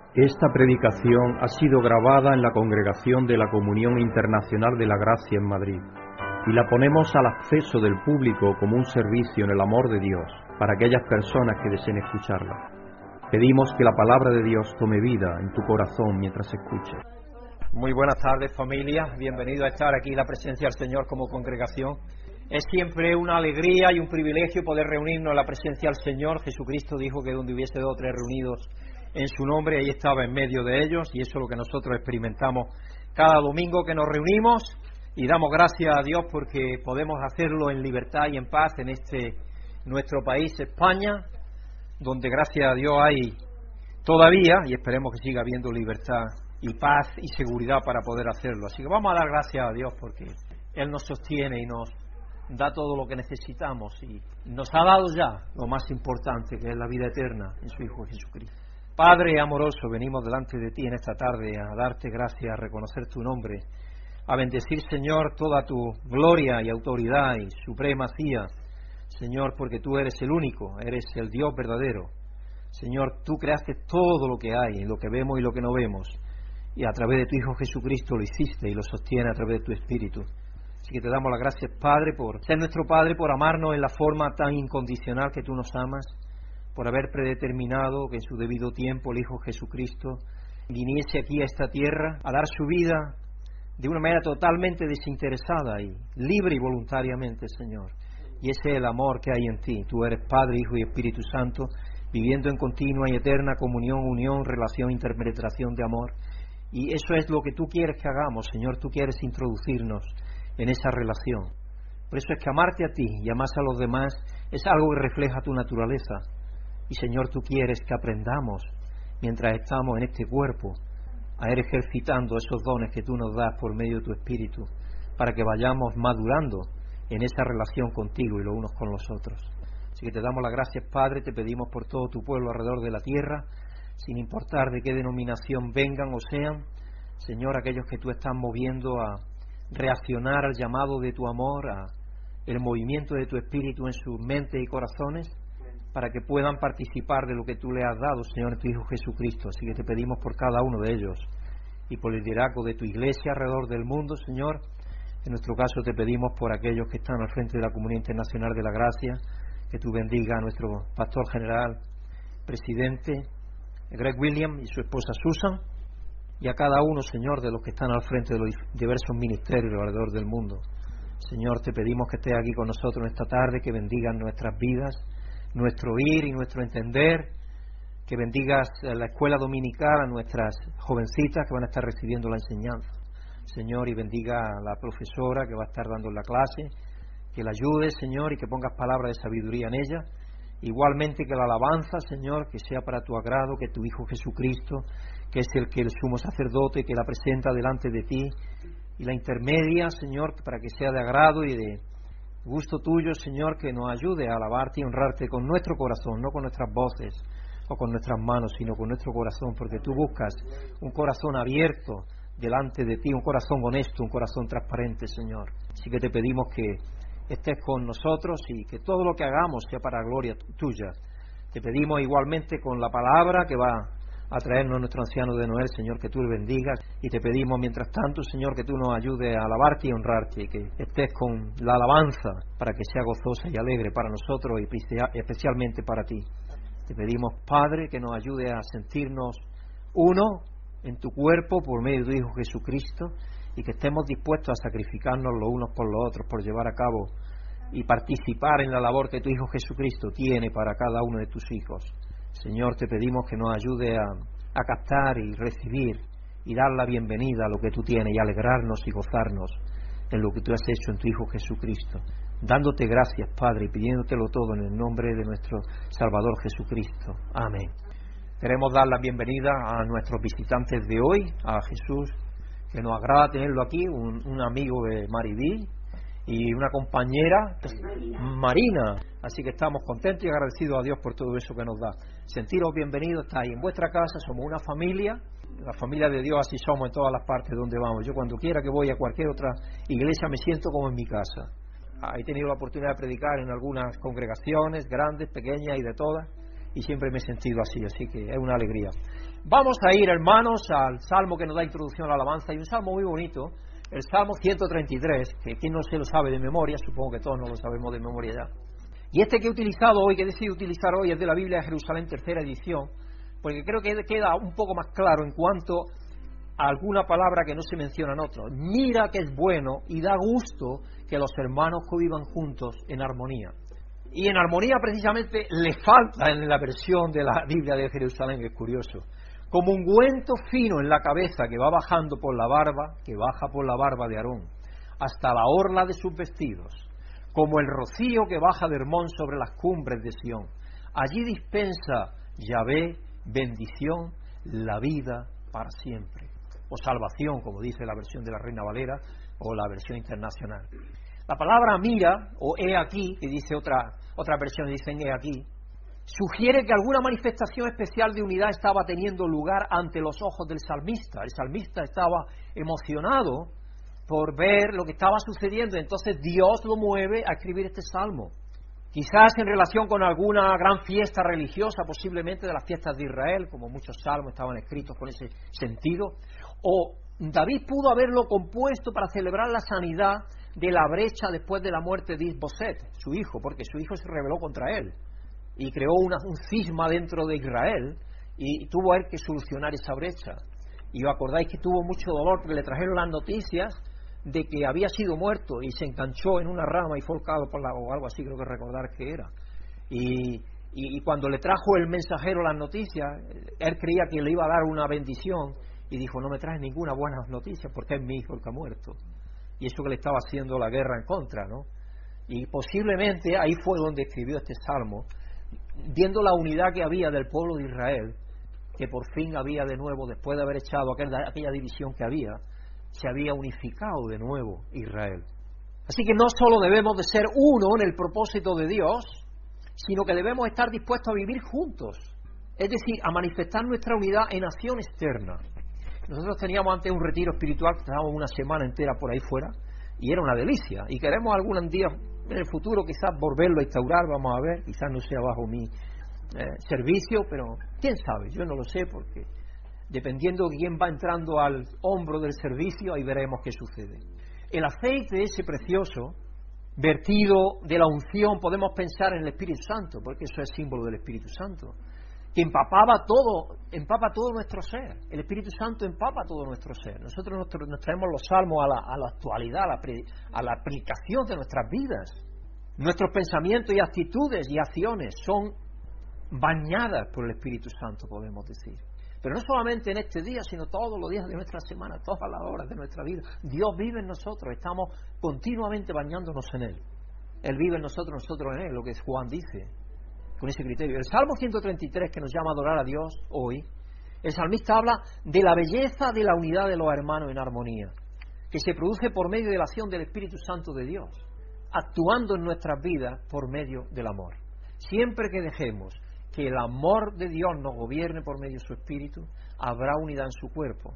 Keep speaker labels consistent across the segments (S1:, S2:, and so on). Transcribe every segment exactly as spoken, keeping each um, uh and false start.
S1: Esta predicación ha sido grabada en la Congregación de la Comunión Internacional de la Gracia en Madrid y la ponemos al acceso del público como un servicio en el amor de Dios para aquellas personas que deseen escucharla. Pedimos que la palabra de Dios tome vida en tu corazón mientras escuches.
S2: Muy buenas tardes, familia. Bienvenido a estar aquí en la presencia del Señor como congregación. Es siempre una alegría y un privilegio poder reunirnos en la presencia del Señor. Jesucristo dijo que donde hubiese dos o tres reunidos en su nombre, ahí estaba en medio de ellos, y eso es lo que nosotros experimentamos cada domingo que nos reunimos, y damos gracias a Dios porque podemos hacerlo en libertad y en paz en este nuestro país, España, donde gracias a Dios hay todavía, y esperemos que siga habiendo libertad y paz y seguridad para poder hacerlo. Así que vamos a dar gracias a Dios porque Él nos sostiene y nos da todo lo que necesitamos, y nos ha dado ya lo más importante, que es la vida eterna en su Hijo Jesucristo. Padre amoroso, venimos delante de ti en esta tarde a darte gracias, a reconocer tu nombre, a bendecir, Señor, toda tu gloria y autoridad y supremacía, Señor, porque tú eres el único, eres el Dios verdadero. Señor, tú creaste todo lo que hay, lo que vemos y lo que no vemos, y a través de tu Hijo Jesucristo lo hiciste y lo sostiene a través de tu Espíritu. Así que te damos las gracias, Padre, por ser nuestro Padre, por amarnos en la forma tan incondicional que tú nos amas, por haber predeterminado que en su debido tiempo el Hijo Jesucristo viniese aquí a esta tierra a dar su vida de una manera totalmente desinteresada y libre y voluntariamente, Señor. Y ese es el amor que hay en ti. Tú eres Padre, Hijo y Espíritu Santo, viviendo en continua y eterna comunión, unión, relación, interpenetración de amor. Y eso es lo que tú quieres que hagamos, Señor. Tú quieres introducirnos en esa relación. Por eso es que amarte a ti y amar a los demás es algo que refleja tu naturaleza. Y, Señor, tú quieres que aprendamos, mientras estamos en este cuerpo, a ir ejercitando esos dones que tú nos das por medio de tu Espíritu, para que vayamos madurando en esa relación contigo y los unos con los otros. Así que te damos las gracias, Padre, te pedimos por todo tu pueblo alrededor de la tierra, sin importar de qué denominación vengan o sean, Señor, aquellos que tú estás moviendo a reaccionar al llamado de tu amor, a el movimiento de tu Espíritu en sus mentes y corazones, para que puedan participar de lo que tú le has dado, Señor, en tu Hijo Jesucristo. Así que te pedimos por cada uno de ellos y por el liderazgo de tu iglesia alrededor del mundo, Señor. En nuestro caso te pedimos por aquellos que están al frente de la Comunidad Internacional de la Gracia, que tú bendiga a nuestro pastor general, presidente Greg Williams y su esposa Susan, y a cada uno, Señor, de los que están al frente de los diversos ministerios alrededor del mundo. Señor, te pedimos que estés aquí con nosotros en esta tarde, que bendigan nuestras vidas, nuestro ir y nuestro entender, que bendigas la escuela dominical a nuestras jovencitas que van a estar recibiendo la enseñanza, Señor, y bendiga a la profesora que va a estar dando la clase, que la ayude, Señor, y que pongas palabras de sabiduría en ella. Igualmente que la alabanza, Señor, que sea para tu agrado, que tu Hijo Jesucristo, que es el que el sumo sacerdote, que la presenta delante de ti, y la intermedia, Señor, para que sea de agrado y de gusto tuyo, Señor, que nos ayude a alabarte y honrarte con nuestro corazón, no con nuestras voces o con nuestras manos, sino con nuestro corazón, porque tú buscas un corazón abierto delante de ti, un corazón honesto, un corazón transparente, Señor. Así que te pedimos que estés con nosotros y que todo lo que hagamos sea para gloria tuya. Te pedimos igualmente con la palabra que va a traernos nuestro anciano de Noel, Señor, que tú le bendigas, y te pedimos mientras tanto, Señor, que tú nos ayudes a alabarte y honrarte, y que estés con la alabanza para que sea gozosa y alegre para nosotros y especialmente para ti. Te pedimos, Padre, que nos ayude a sentirnos uno en tu cuerpo por medio de tu Hijo Jesucristo, y que estemos dispuestos a sacrificarnos los unos por los otros por llevar a cabo y participar en la labor que tu Hijo Jesucristo tiene para cada uno de tus hijos. Señor, te pedimos que nos ayude a, a captar y recibir y dar la bienvenida a lo que tú tienes y alegrarnos y gozarnos en lo que tú has hecho en tu Hijo Jesucristo. Dándote gracias, Padre, y pidiéndotelo todo en el nombre de nuestro Salvador Jesucristo. Amén. Queremos dar la bienvenida a nuestros visitantes de hoy, a Jesús, que nos agrada tenerlo aquí, un, un amigo de Maribí y una compañera, Marina. Así que estamos contentos y agradecidos a Dios por todo eso que nos da. Sentiros bienvenidos, estáis en vuestra casa, somos una familia, la familia de Dios, así somos en todas las partes donde vamos. Yo cuando quiera que voy a cualquier otra iglesia me siento como en mi casa. He tenido la oportunidad de predicar en algunas congregaciones, grandes, pequeñas y de todas, y siempre me he sentido así, así que es una alegría. Vamos a ir, hermanos, al salmo que nos da introducción a la alabanza, y un salmo muy bonito, el Salmo ciento treinta y tres, que quien no se lo sabe de memoria, supongo que todos no lo sabemos de memoria ya. Y este que he utilizado hoy, que he decidido utilizar hoy, es de la Biblia de Jerusalén, tercera edición, porque creo que queda un poco más claro en cuanto a alguna palabra que no se menciona en otros. Mira que es bueno y da gusto que los hermanos convivan juntos en armonía. Y en armonía precisamente le falta en la versión de la Biblia de Jerusalén, que es curioso. Como ungüento fino en la cabeza que va bajando por la barba, que baja por la barba de Aarón, hasta la orla de sus vestidos, como el rocío que baja de Hermón sobre las cumbres de Sión. Allí dispensa Yahvé bendición, la vida para siempre. O salvación, como dice la versión de la Reina Valera o la versión internacional. La palabra mira, o he aquí, que dice otra, otra versión, dicen he aquí, sugiere que alguna manifestación especial de unidad estaba teniendo lugar ante los ojos del salmista. El salmista estaba emocionado por ver lo que estaba sucediendo, entonces Dios lo mueve a escribir este salmo. Quizás en relación con alguna gran fiesta religiosa, posiblemente de las fiestas de Israel, como muchos salmos estaban escritos con ese sentido, o David pudo haberlo compuesto para celebrar la sanidad de la brecha después de la muerte de Isboset, su hijo, porque su hijo se rebeló contra él y creó una, un cisma dentro de Israel y tuvo él que solucionar esa brecha. Y os acordáis que tuvo mucho dolor porque le trajeron las noticias de que había sido muerto y se enganchó en una rama y fue ahorcado por la, o algo así, creo que recordar que era. Y, y, y cuando le trajo el mensajero las noticias, él creía que le iba a dar una bendición y dijo, no me traes ninguna buena noticia porque es mi hijo el que ha muerto. Y eso que le estaba haciendo la guerra en contra, ¿no? Y posiblemente ahí fue donde escribió este salmo, viendo la unidad que había del pueblo de Israel, que por fin había de nuevo, después de haber echado aquella, aquella división que había, se había unificado de nuevo Israel. Así que no solo debemos de ser uno en el propósito de Dios, sino que debemos estar dispuestos a vivir juntos, es decir, a manifestar nuestra unidad en acción externa. Nosotros teníamos antes un retiro espiritual, que estábamos una semana entera por ahí fuera, y era una delicia, y queremos algún día en el futuro quizás volverlo a instaurar, vamos a ver, quizás no sea bajo mi eh, servicio, pero quién sabe, yo no lo sé, porque dependiendo de quién va entrando al hombro del servicio, ahí veremos qué sucede. El aceite ese precioso, vertido de la unción, podemos pensar en el Espíritu Santo, porque eso es símbolo del Espíritu Santo, que empapaba todo, empapa todo nuestro ser. El Espíritu Santo empapa todo nuestro ser. Nosotros nos, nos traemos los salmos a la, a la actualidad, a la, pre, a la aplicación de nuestras vidas. Nuestros pensamientos y actitudes y acciones son bañadas por el Espíritu Santo, podemos decir. Pero no solamente en este día, sino todos los días de nuestra semana, todas las horas de nuestra vida. Dios vive en nosotros, estamos continuamente bañándonos en Él. Él vive en nosotros, nosotros en Él, lo que Juan dice, con ese criterio. El Salmo ciento treinta y tres, que nos llama a adorar a Dios hoy, el salmista habla de la belleza de la unidad de los hermanos en armonía, que se produce por medio de la acción del Espíritu Santo de Dios, actuando en nuestras vidas por medio del amor. Siempre que dejemos que el amor de Dios nos gobierne por medio de su Espíritu, habrá unidad en su cuerpo.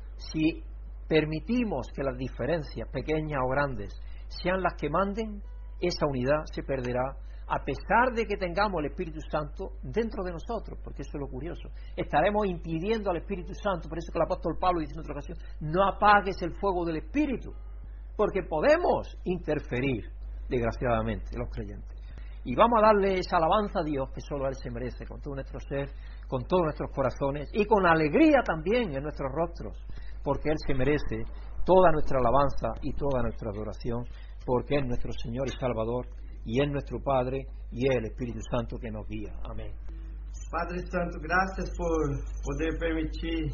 S2: Si permitimos que las diferencias, pequeñas o grandes, sean las que manden, esa unidad se perderá, a pesar de que tengamos el Espíritu Santo dentro de nosotros, porque eso es lo curioso. Estaremos impidiendo al Espíritu Santo, por eso que el apóstol Pablo dice en otra ocasión, no apagues el fuego del Espíritu, porque podemos interferir, desgraciadamente, los creyentes. Y vamos a darle esa alabanza a Dios que solo Él se merece, con todo nuestro ser, con todos nuestros corazones y con alegría también en nuestros rostros, porque Él se merece toda nuestra alabanza y toda nuestra adoración, porque es nuestro Señor y Salvador, y es nuestro Padre, y es el Espíritu Santo que nos guía. Amén.
S3: Padre Santo, gracias por poder permitir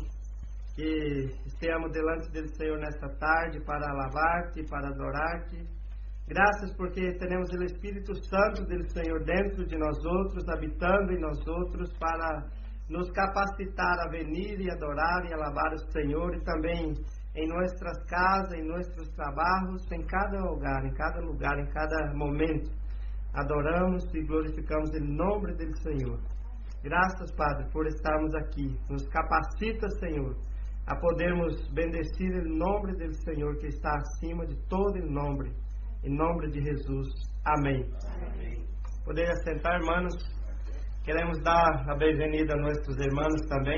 S3: que estemos delante del Señor nesta tarde para alabarte, para adorarte. Graças porque temos o Espírito Santo do Senhor dentro de nós outros, habitando em nós outros, para nos capacitar a venir e adorar e alabar o Senhor, e também em nossas casas, em nossos trabalhos, em cada lugar, em cada lugar, em cada momento. Adoramos e glorificamos o nome do Senhor. Graças, Padre, por estarmos aqui. Nos capacita, Senhor, a podermos bendecir o nome do Senhor que está acima de todo o nome. Em nome de Jesus. Amém. Amém. Poder assentar, hermanos. Queremos dar a bem-vinda a nossos irmãos também.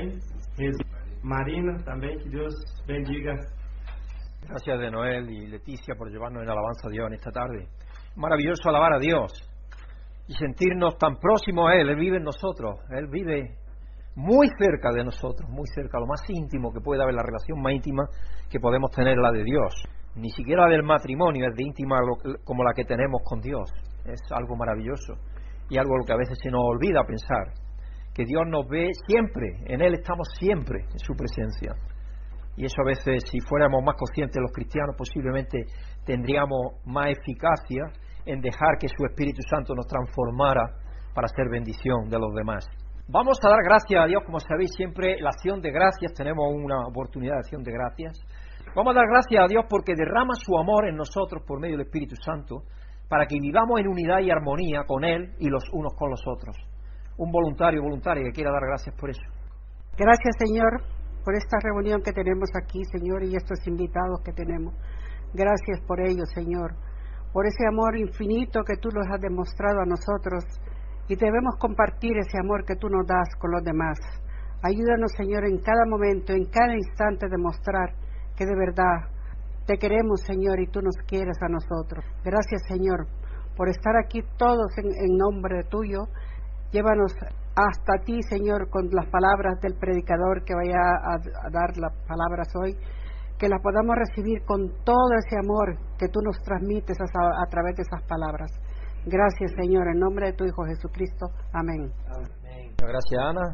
S3: Marina también, que Dios bendiga.
S2: Gracias de Noel y Leticia por llevarnos en alabanza a Dios en esta tarde. Maravilloso alabar a Dios y sentirnos tan próximos a Él. Él vive en nosotros, Él vive muy cerca de nosotros, muy cerca, lo más íntimo que puede haber, la relación más íntima que podemos tener, la de Dios. Ni siquiera la del matrimonio es de íntima como la que tenemos con Dios. Es algo maravilloso y algo lo que a veces se nos olvida pensar, que Dios nos ve siempre, en Él estamos siempre, en su presencia. Y eso a veces, si fuéramos más conscientes los cristianos, posiblemente tendríamos más eficacia en dejar que su Espíritu Santo nos transformara para ser bendición de los demás. Vamos a dar gracias a Dios, como sabéis, siempre la acción de gracias, tenemos una oportunidad de acción de gracias. Vamos a dar gracias a Dios porque derrama su amor en nosotros por medio del Espíritu Santo, para que vivamos en unidad y armonía con Él y los unos con los otros. Un voluntario o voluntaria que quiera dar gracias por eso.
S4: Gracias, Señor, por esta reunión que tenemos aquí, Señor, y estos invitados que tenemos. Gracias por ello, Señor, por ese amor infinito que tú nos has demostrado a nosotros, y debemos compartir ese amor que tú nos das con los demás. Ayúdanos, Señor, en cada momento, en cada instante, demostrar que de verdad te queremos, Señor, y tú nos quieres a nosotros. Gracias, Señor, por estar aquí todos en, en nombre tuyo. Llévanos hasta ti, Señor, con las palabras del predicador que vaya a, a dar las palabras hoy, que las podamos recibir con todo ese amor que tú nos transmites a, a través de esas palabras. Gracias, Señor, en nombre de tu Hijo Jesucristo. Amén.
S2: Amén. Gracias, Ana.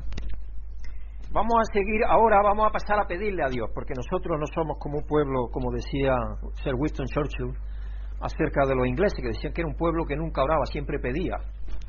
S2: Vamos a seguir, ahora vamos a pasar a pedirle a Dios, porque nosotros no somos como un pueblo, como decía Sir Winston Churchill, acerca de los ingleses, que decían que era un pueblo que nunca oraba, siempre pedía.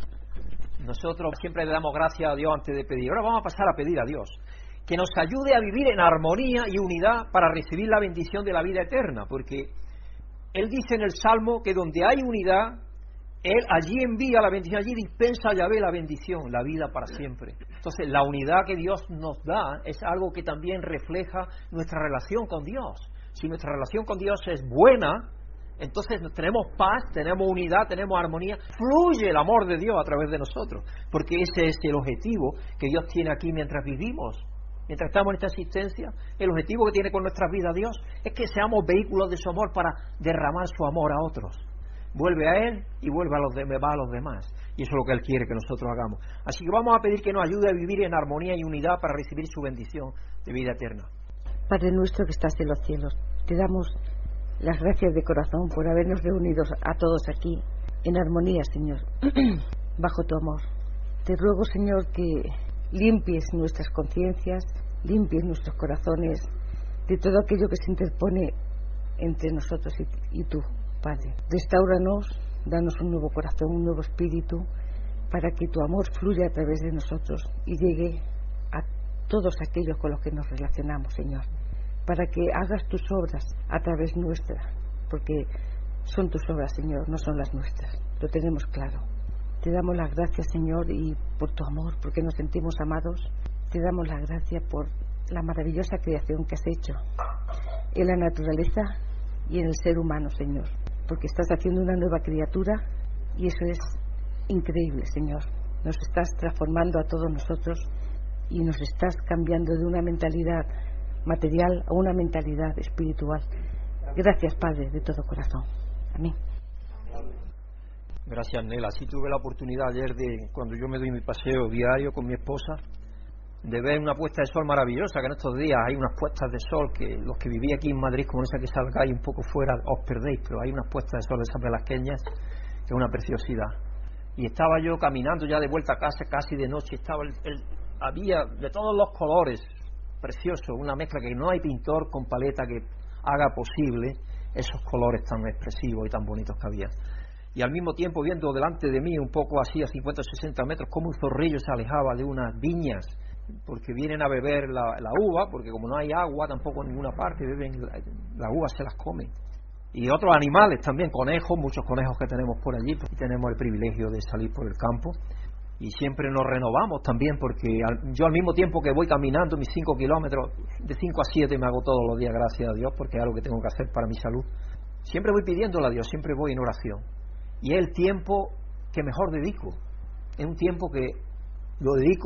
S2: Nosotros siempre le damos gracias a Dios antes de pedir. Ahora vamos a pasar a pedir a Dios que nos ayude a vivir en armonía y unidad para recibir la bendición de la vida eterna, porque Él dice en el Salmo que donde hay unidad, Él allí envía la bendición, allí dispensa a Yahvé la bendición, la vida para siempre. Entonces, la unidad que Dios nos da es algo que también refleja nuestra relación con Dios. Si nuestra relación con Dios es buena, entonces tenemos paz, tenemos unidad, tenemos armonía, fluye el amor de Dios a través de nosotros, porque ese es el objetivo que Dios tiene aquí mientras vivimos, mientras estamos en esta existencia. El objetivo que tiene con nuestras vidas Dios es que seamos vehículos de su amor para derramar su amor a otros. Vuelve a Él y vuelve a los, de, va a los demás, y eso es lo que Él quiere que nosotros hagamos. Así que vamos a pedir que nos ayude a vivir en armonía y unidad para recibir su bendición de vida eterna.
S5: Padre nuestro que estás en los cielos, te damos las gracias de corazón por habernos reunido a todos aquí en armonía, Señor, bajo tu amor. Te ruego, Señor, que limpies nuestras conciencias, limpies nuestros corazones de todo aquello que se interpone entre nosotros y, y tú, Padre. Restáuranos, danos un nuevo corazón, un nuevo espíritu, para que tu amor fluya a través de nosotros y llegue a todos aquellos con los que nos relacionamos, Señor, para que hagas tus obras a través nuestra, porque son tus obras, Señor, no son las nuestras, lo tenemos claro. Te damos las gracias, Señor, y por tu amor, porque nos sentimos amados. Te damos las gracias por la maravillosa creación que has hecho en la naturaleza y en el ser humano, Señor, porque estás haciendo una nueva criatura y eso es increíble, Señor. Nos estás transformando a todos nosotros y nos estás cambiando de una mentalidad material a una mentalidad espiritual. Gracias, Padre, de todo corazón. Amén.
S2: Gracias, Nela. Sí tuve la oportunidad ayer de, cuando yo me doy mi paseo diario con mi esposa, de ver una puesta de sol maravillosa, que en estos días hay unas puestas de sol que los que viví aquí en Madrid, como esa que salgáis un poco fuera, os perdéis, pero hay unas puestas de sol de esas velasqueñas que es una preciosidad. Y estaba yo caminando ya de vuelta a casa, casi de noche, estaba el, el, había de todos los colores, precioso, una mezcla que no hay pintor con paleta que haga posible esos colores tan expresivos y tan bonitos que había. Y al mismo tiempo viendo delante de mí, un poco así a cincuenta o sesenta metros, como un zorrillo se alejaba de unas viñas, porque vienen a beber la, la uva, porque como no hay agua tampoco en ninguna parte, beben la, la uva, se las comen. Y otros animales también, conejos, muchos conejos que tenemos por allí, porque tenemos el privilegio de salir por el campo. Y siempre nos renovamos también, porque al, yo al mismo tiempo que voy caminando mis cinco kilómetros, de cinco a siete me hago todos los días, gracias a Dios, porque es algo que tengo que hacer para mi salud. Siempre voy pidiéndole a Dios, siempre voy en oración. Y es el tiempo que mejor dedico. Es un tiempo que lo dedico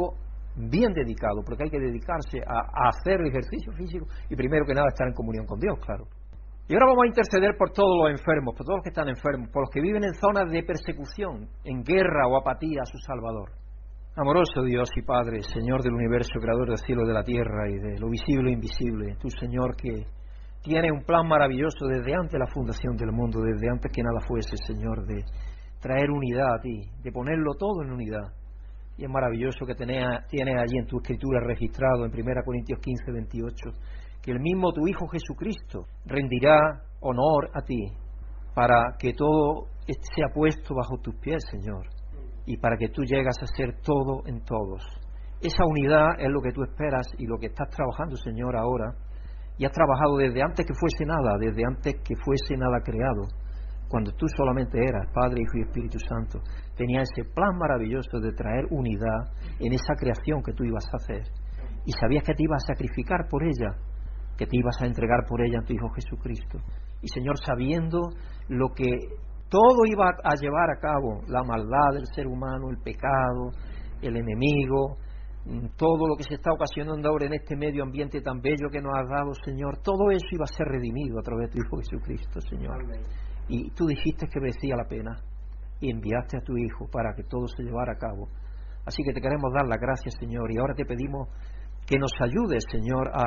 S2: bien dedicado, porque hay que dedicarse a, a hacer el ejercicio físico y primero que nada estar en comunión con Dios, claro. Y ahora vamos a interceder por todos los enfermos, por todos los que están enfermos, por los que viven en zonas de persecución, en guerra o apatía a su Salvador. Amoroso Dios y Padre, Señor del universo, Creador del cielo y de la tierra y de lo visible e invisible, tú, Señor, que tienes un plan maravilloso desde antes de la fundación del mundo, desde antes que nada fuese, Señor, de traer unidad a ti, de ponerlo todo en unidad. Y es maravilloso que tienes allí en tu escritura registrado en primera Corintios quince, veintiocho, que el mismo tu Hijo Jesucristo rendirá honor a ti para que todo sea puesto bajo tus pies, Señor, y para que tú llegas a ser todo en todos. Esa unidad es lo que tú esperas y lo que estás trabajando, Señor, ahora, y has trabajado desde antes que fuese nada, desde antes que fuese nada creado, cuando tú solamente eras Padre, Hijo y Espíritu Santo. Tenías ese plan maravilloso de traer unidad en esa creación que tú ibas a hacer, y sabías que te ibas a sacrificar por ella, que te ibas a entregar por ella a tu Hijo Jesucristo. Y, Señor, sabiendo lo que todo iba a llevar a cabo, la maldad del ser humano, el pecado, el enemigo, todo lo que se está ocasionando ahora en este medio ambiente tan bello que nos has dado, Señor, todo eso iba a ser redimido a través de tu Hijo Jesucristo, Señor. Amén. Y tú dijiste que merecía la pena y enviaste a tu Hijo para que todo se llevara a cabo. Así que te queremos dar las gracias, Señor, y ahora te pedimos que nos ayudes, Señor, a,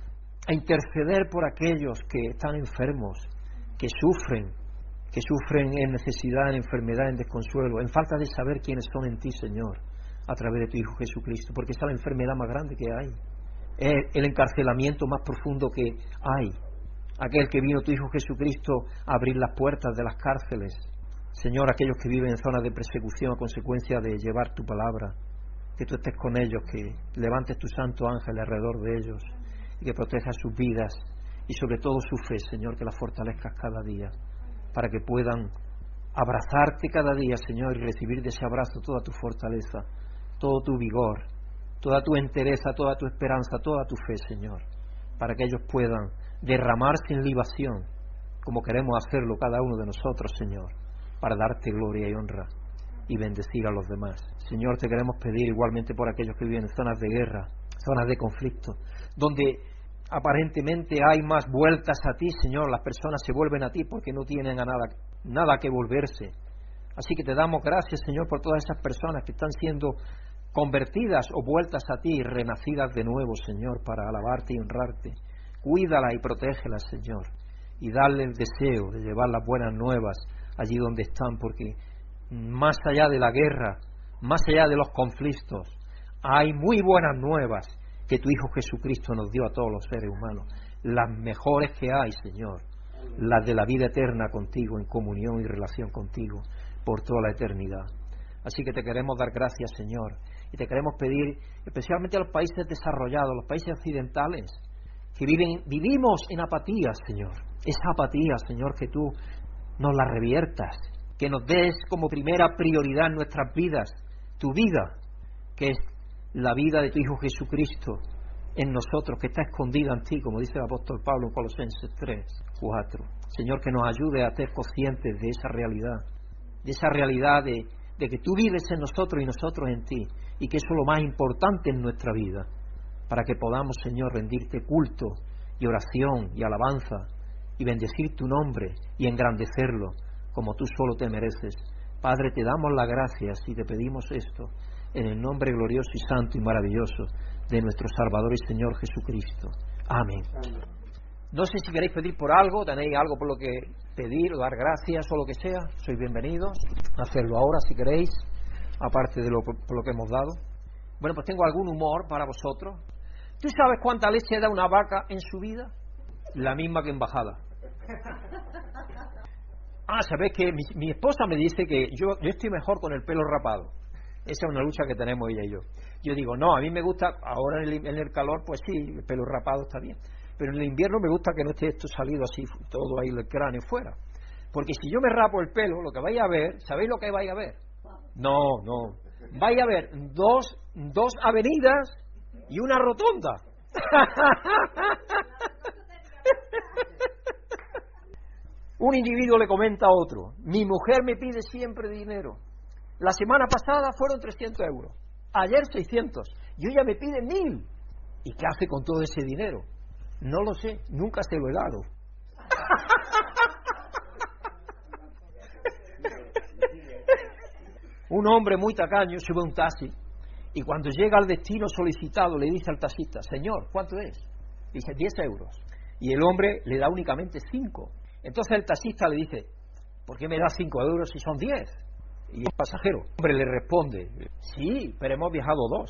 S2: a interceder por aquellos que están enfermos, que sufren, que sufren en necesidad, en enfermedad, en desconsuelo, en falta de saber quiénes son en ti, Señor, a través de tu Hijo Jesucristo, porque esa es la enfermedad más grande que hay, es el encarcelamiento más profundo que hay, aquel que vino tu Hijo Jesucristo a abrir las puertas de las cárceles, Señor, aquellos que viven en zonas de persecución a consecuencia de llevar tu palabra, que tú estés con ellos, que levantes tu santo ángel alrededor de ellos y que protejas sus vidas y sobre todo su fe, Señor, que la fortalezcas cada día, para que puedan abrazarte cada día, Señor, y recibir de ese abrazo toda tu fortaleza, todo tu vigor, toda tu entereza, toda tu esperanza, toda tu fe, Señor, para que ellos puedan derramarse en libación, como queremos hacerlo cada uno de nosotros, Señor, para darte gloria y honra y bendecir a los demás. Señor, te queremos pedir igualmente por aquellos que viven en zonas de guerra, zonas de conflicto, donde aparentemente hay más vueltas a ti, Señor, las personas se vuelven a ti porque no tienen a nada, nada que volverse. Así que te damos gracias, Señor, por todas esas personas que están siendo convertidas o vueltas a ti, renacidas de nuevo, Señor, para alabarte y honrarte. Cuídalas y protégelas, Señor, y dale el deseo de llevar las buenas nuevas allí donde están, porque más allá de la guerra, más allá de los conflictos, hay muy buenas nuevas que tu Hijo Jesucristo nos dio a todos los seres humanos, las mejores que hay, Señor, las de la vida eterna contigo, en comunión y relación contigo por toda la eternidad. Así que te queremos dar gracias, Señor, y te queremos pedir especialmente a los países desarrollados, los países occidentales, que viven, vivimos en apatía, Señor, esa apatía, Señor, que tú nos la reviertas, que nos des como primera prioridad en nuestras vidas, tu vida, que es la vida de tu Hijo Jesucristo en nosotros, que está escondida en ti, como dice el apóstol Pablo en Colosenses tres, cuatro. Señor, que nos ayude a ser conscientes de esa realidad, de esa realidad de, de que tú vives en nosotros y nosotros en ti, y que eso es lo más importante en nuestra vida, para que podamos, Señor, rendirte culto y oración y alabanza, y bendecir tu nombre y engrandecerlo, como tú solo te mereces. Padre, te damos las gracias y te pedimos esto, en el nombre glorioso y santo y maravilloso de nuestro Salvador y Señor Jesucristo. Amén. Amén. No sé si queréis pedir por algo, tenéis algo por lo que pedir o dar gracias o lo que sea, sois bienvenidos a hacerlo ahora si queréis, aparte de lo, por lo que hemos dado. Bueno, pues tengo algún humor para vosotros. ¿Tú sabes cuánta leche da una vaca en su vida? La misma que en bajada. Ah, ¿sabéis que mi, mi esposa me dice que yo, yo estoy mejor con el pelo rapado? Esa es una lucha que tenemos ella y yo. Yo digo, no, a mí me gusta, ahora en el, en el calor, pues sí, el pelo rapado está bien. Pero en el invierno me gusta que no esté esto salido así, todo ahí el cráneo fuera. Porque si yo me rapo el pelo, lo que vais a ver, ¿sabéis lo que vais a ver? No, no. Vais a ver dos, dos avenidas y una rotonda. Un individuo le comenta a otro, mi mujer me pide siempre dinero. La semana pasada fueron trescientos euros, ayer seiscientos, y ella me pide mil. ¿Y qué hace con todo ese dinero? No lo sé, nunca se lo he dado. Un hombre muy tacaño sube a un taxi y cuando llega al destino solicitado le dice al taxista: señor, ¿cuánto es? Dice: diez euros. Y el hombre le da únicamente cinco. Entonces el taxista le dice: ¿por qué me da cinco euros si son diez? Y el pasajero, el hombre le responde: sí, pero hemos viajado dos.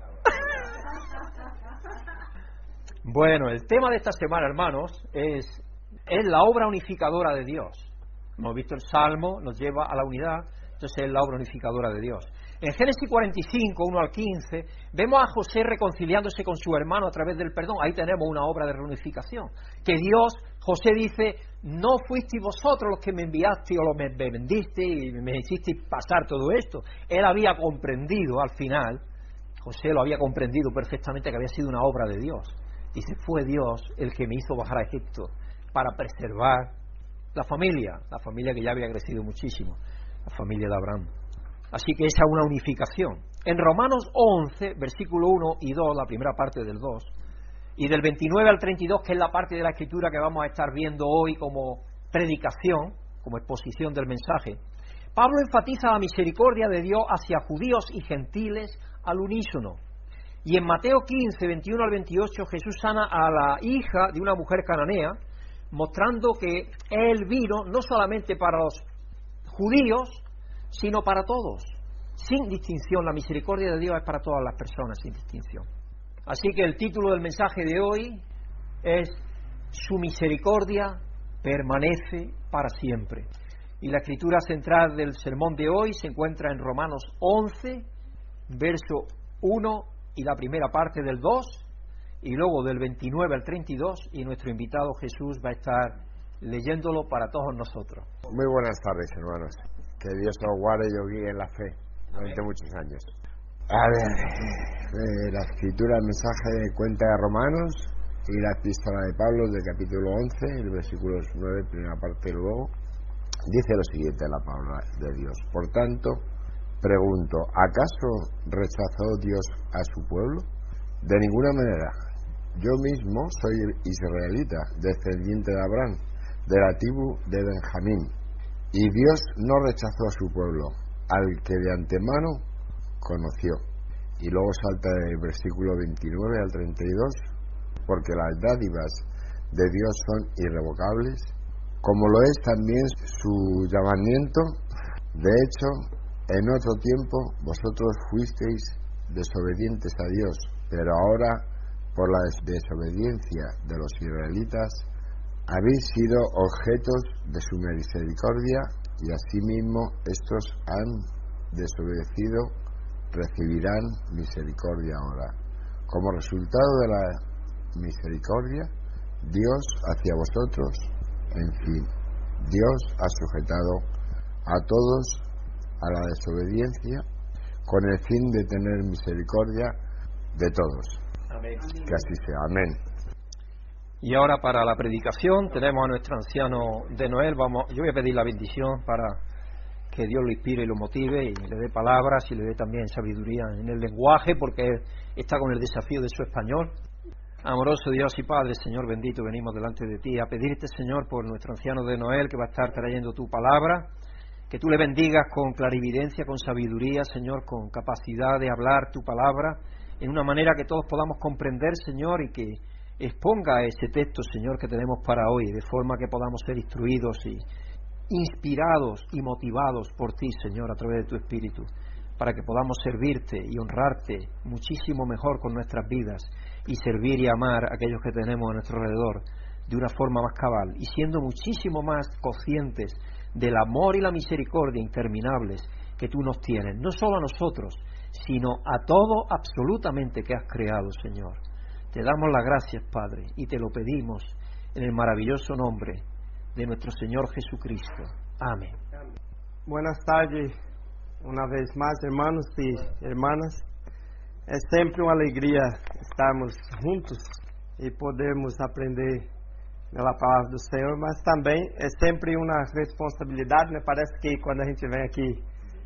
S2: Bueno, el tema de esta semana, hermanos, es, es la obra unificadora de Dios. Hemos visto el Salmo, nos lleva a la unidad, entonces es la obra unificadora de Dios. En Génesis cuarenta y cinco, uno al quince, vemos a José reconciliándose con su hermano a través del perdón. Ahí tenemos una obra de reunificación. Que Dios, José dice: no fuisteis vosotros los que me enviasteis o los me bendisteis y me hicisteis pasar todo esto. Él había comprendido al final, José lo había comprendido perfectamente, que había sido una obra de Dios. Dice: fue Dios el que me hizo bajar a Egipto para preservar la familia, la familia que ya había crecido muchísimo, la familia de Abraham. Así que esa es una unificación. En Romanos once, versículo uno y dos, la primera parte del dos, y del veintinueve al treinta y dos, que es la parte de la Escritura que vamos a estar viendo hoy como predicación, como exposición del mensaje, Pablo enfatiza la misericordia de Dios hacia judíos y gentiles al unísono. Y en Mateo quince, veintiuno al veintiocho, Jesús sana a la hija de una mujer cananea, mostrando que Él vino no solamente para los judíos, sino para todos, sin distinción. La misericordia de Dios es para todas las personas, sin distinción. Así que el título del mensaje de hoy es: su misericordia permanece para siempre. Y la escritura central del sermón de hoy se encuentra en Romanos once, verso uno y la primera parte del dos, y luego del veintinueve al treinta y dos, y nuestro invitado Jesús va a estar leyéndolo para todos nosotros.
S6: Muy buenas tardes, hermanos. Que Dios os guarde y os guíe en la fe durante Amén. Muchos años. A ver, eh, la escritura, el mensaje cuenta de Romanos y la epístola de Pablo del capítulo once, el versículo nueve, primera parte, luego dice lo siguiente la palabra de Dios: por tanto, pregunto, ¿acaso rechazó Dios a su pueblo? De ninguna manera. Yo mismo soy israelita, descendiente de Abraham, de la tribu de Benjamín. Y Dios no rechazó a su pueblo, al que de antemano conoció. Y luego salta del versículo veintinueve al treinta y dos, porque las dádivas de Dios son irrevocables, como lo es también su llamamiento. De hecho, en otro tiempo vosotros fuisteis desobedientes a Dios, pero ahora, por la desobediencia de los israelitas, habéis sido objetos de su misericordia, y asimismo estos han desobedecido, recibirán misericordia ahora. Como resultado de la misericordia, Dios hacia vosotros, en fin, Dios ha sujetado a todos a la desobediencia con el fin de tener misericordia de todos.
S2: Amén.
S6: Que así sea. Amén.
S2: Y ahora para la predicación tenemos a nuestro anciano de Noel. Vamos, yo voy a pedir la bendición para que Dios lo inspire y lo motive y le dé palabras y le dé también sabiduría en el lenguaje, porque está con el desafío de su español. Amoroso Dios y Padre, Señor bendito, venimos delante de ti a pedirte, Señor, por nuestro anciano de Noel, que va a estar trayendo tu palabra, que tú le bendigas con clarividencia, con sabiduría, Señor, con capacidad de hablar tu palabra en una manera que todos podamos comprender, Señor, y que exponga ese texto, Señor, que tenemos para hoy, de forma que podamos ser instruidos y inspirados y motivados por ti, Señor, a través de tu Espíritu, para que podamos servirte y honrarte muchísimo mejor con nuestras vidas y servir y amar a aquellos que tenemos a nuestro alrededor de una forma más cabal, y siendo muchísimo más conscientes del amor y la misericordia interminables que tú nos tienes, no solo a nosotros, sino a todo absolutamente que has creado, Señor. Te damos las gracias, Padre, y te lo pedimos en el maravilloso nombre de nuestro Señor Jesucristo. Amén.
S3: Buenas tardes, una vez más, hermanos y hermanas. É sempre uma alegria estarmos juntos e podermos aprender pela palavra do Senhor, mas também é sempre uma responsabilidade, né? Parece que quando a gente vem aqui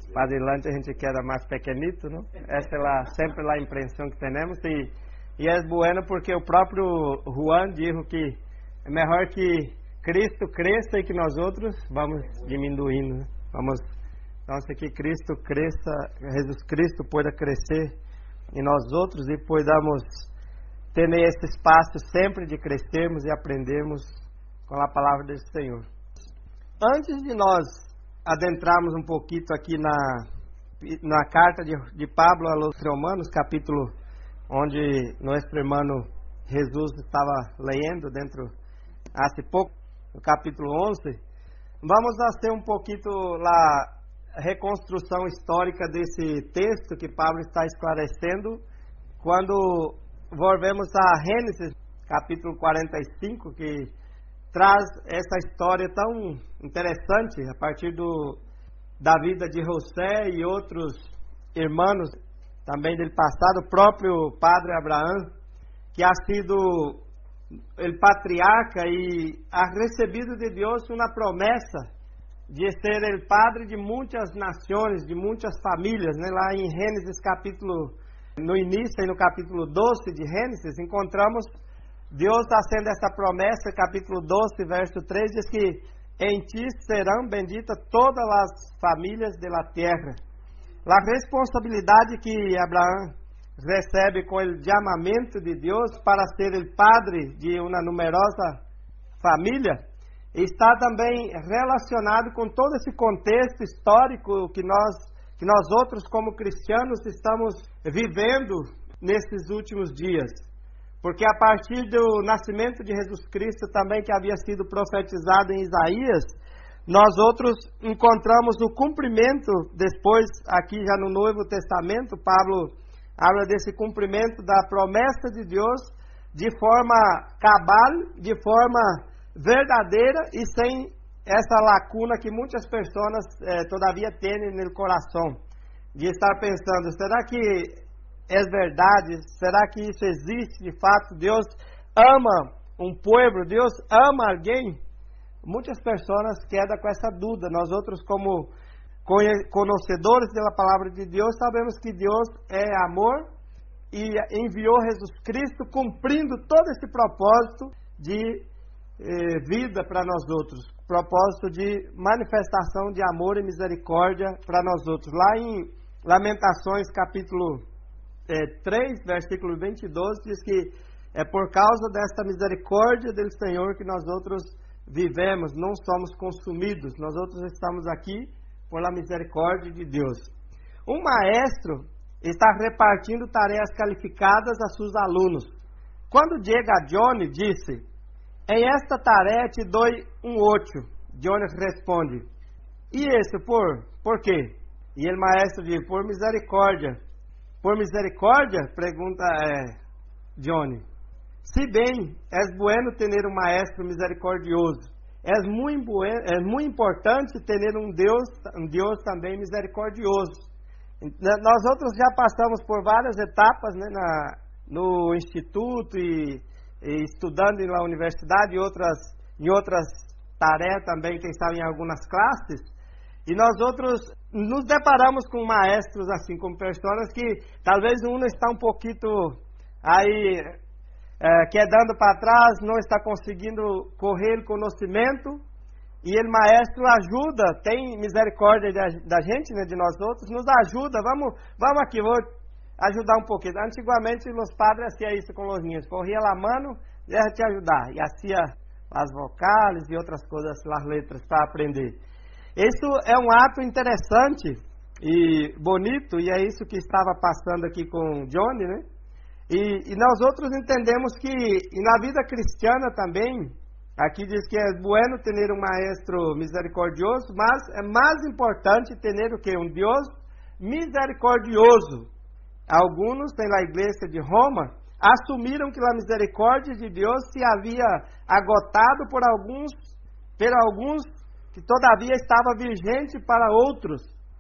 S3: para adelante a gente queda mais pequenito, não? Essa é la, sempre a impressão que temos e, e é bueno porque o próprio Juan disse que é melhor que Cristo cresça e que nós outros vamos diminuindo, né? Vamos, então, que Cristo cresça, Jesus Cristo pueda crescer em nós outros e podamos ter esse espaço sempre de crescermos e aprendermos com a palavra do Senhor. Antes de nós adentrarmos um pouquinho aqui na, na carta de, de Pablo aos Romanos, capítulo onde nosso irmão Jesus estava lendo dentro, há pouco, no capítulo onze, vamos fazer um pouquinho a reconstrução histórica desse texto que Pablo está esclarecendo, quando volvemos a Gênesis, capítulo quarenta e cinco, que traz essa história tão interessante a partir do, da vida de José e outros irmãos também do passado, o próprio padre Abraão, que ha sido o patriarca e ha recebido de Deus uma promessa de ser o padre de muitas nações, de muitas famílias, né? Lá em Gênesis capítulo, no início e no capítulo doze de Gênesis, encontramos Deus fazendo essa promessa, capítulo doze, verso três, diz que em ti serão benditas todas as famílias da terra. A responsabilidade que Abraão recebe com o chamamento de Deus para ser o padre de uma numerosa família está também relacionado com todo esse contexto histórico que nós, que nós outros como cristianos estamos vivendo nesses últimos dias. Porque a partir do nascimento de Jesus Cristo também, que havia sido profetizado em Isaías, nós outros encontramos o cumprimento, depois aqui já no Novo Testamento, Pablo habla desse cumprimento da promessa de Deus de forma cabal, de forma verdadeira e sem essa lacuna que muitas pessoas eh, todavia têm no coração, de estar pensando, será que é verdade? Será que isso existe de fato? Deus ama um povo? Deus ama alguém? Muitas pessoas quedam com essa dúvida. Nós outros, como conhecedores da palavra de Deus, sabemos que Deus é amor e enviou Jesus Cristo cumprindo todo esse propósito de eh, vida para nós outros, propósito de manifestação de amor e misericórdia para nós outros. Lá em Lamentações capítulo eh, três, versículo vinte e dois, diz que é por causa desta misericórdia do Senhor que nós outros vivemos, não somos consumidos, nós outros estamos aqui por la misericórdia de Deus. Um maestro está repartindo tarefas qualificadas a seus alunos. Quando chega a Johnny, disse: em esta tarefa te dou um oito. Johnny responde: e esse por? Por quê? E o maestro diz: por misericórdia. Por misericórdia? Pergunta é, Johnny. Se bem, é bueno ter um maestro misericordioso. É muito, bueno, é muito importante ter um Deus, um Deus também misericordioso. Nós outros já passamos por várias etapas, né, na, no instituto e, e estudando na universidade e outras, em outras tarefas também, quem sabe em algumas classes. E nós outros nos deparamos com maestros assim, com pessoas que talvez um está um pouquinho aí é, quedando para trás, não está conseguindo correr o conhecimento, e o maestro ajuda, tem misericórdia da, da gente, né, de nós outros, nos ajuda, vamos, vamos aqui, vou ajudar um pouquinho. Antigamente os padres faziam isso com os niños, corria lá, mano, deixa te ajudar, e hacía as vocais e outras coisas, as letras para aprender. Isso é um ato interessante e bonito, e é isso que estava passando aqui com Johnny, né? E, e nós outros entendemos que e na vida cristiana também, aqui diz que é bueno ter um maestro misericordioso, mas é mais importante ter o que? Um Deus misericordioso. Alguns, na igreja de Roma, assumiram que a misericórdia de Deus se havia agotado por alguns, por alguns que todavia estava vigente para outros.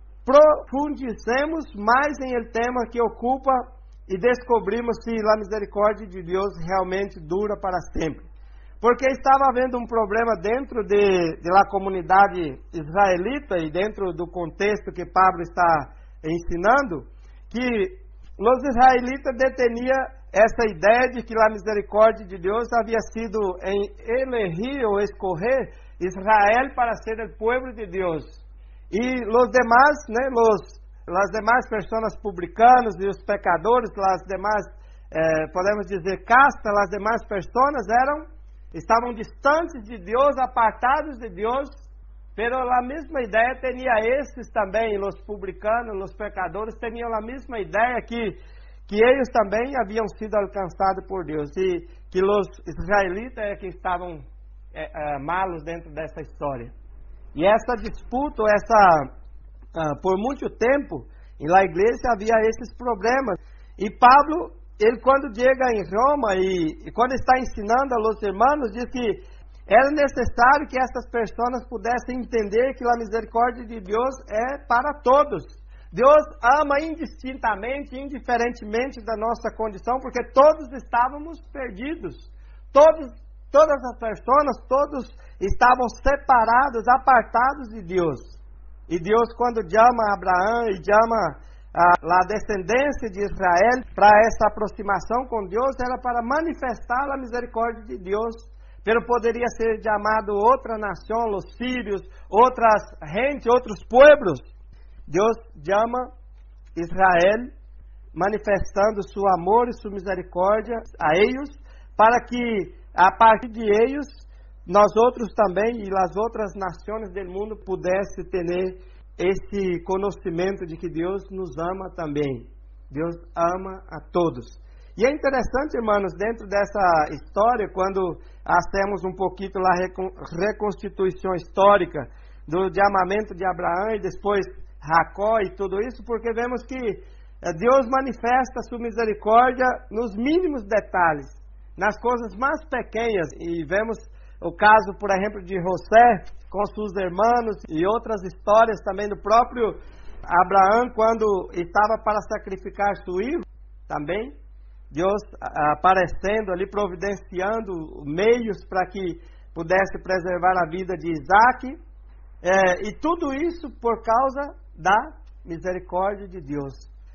S3: Profundizemos mais em el tema que ocupa e descobrimos se a misericórdia de Deus realmente dura para sempre. porque estava havendo um problema dentro de, de la comunidade israelita e dentro do contexto que Pablo está ensinando, que os israelitas deteniam essa ideia de que a misericórdia de Deus havia sido em elegir ou escorrer Israel para ser o povo de Deus. E os demais, né, los, as demais pessoas publicanas e os pecadores, as demais, eh, podemos dizer, castas, as demais pessoas eram, estavam distantes de Deus, apartados de Deus, pero a mesma ideia tinha esses também, os publicanos, os pecadores, tinham a mesma ideia que que eles também haviam sido alcançados por Deus e que os israelitas é que estavam é, é, malos dentro dessa história. E essa disputa, essa, uh, por muito tempo, na igreja havia esses problemas. E Pablo, ele quando chega em Roma e, e quando está ensinando aos irmãos, diz que era necessário que essas pessoas pudessem entender que a misericórdia de Deus é para todos. Deus ama indistintamente, indiferentemente da nossa condição, porque todos estávamos perdidos. Todos, todas as pessoas, todos estavam separados, apartados de Deus. E Deus, quando chama Abraão e chama a, a descendência de Israel para essa aproximação com Deus, era para manifestar a misericórdia de Deus. Pero poderia ser chamado outra nação, os sírios, outras gente, outros pueblos. Deus chama Israel, manifestando seu amor e sua misericórdia a eles, para que a partir de eles, nós outros também e as outras nações do mundo pudessem ter esse conhecimento de que Deus nos ama também. Deus ama a todos. E é interessante, irmãos, dentro dessa história, quando hacemos um pouquinho a reconstituição histórica do chamamento de Abraão e depois Jacó e tudo isso, porque vemos que Deus manifesta sua misericórdia nos mínimos detalhes, nas coisas mais pequenas. E vemos o caso, por exemplo, de José com seus irmãos e outras histórias também do próprio Abraão, quando estava para sacrificar seu filho, também Deus aparecendo ali, providenciando meios para que pudesse preservar a vida de Isaac, é, e tudo isso por causa da misericórdia de Deus.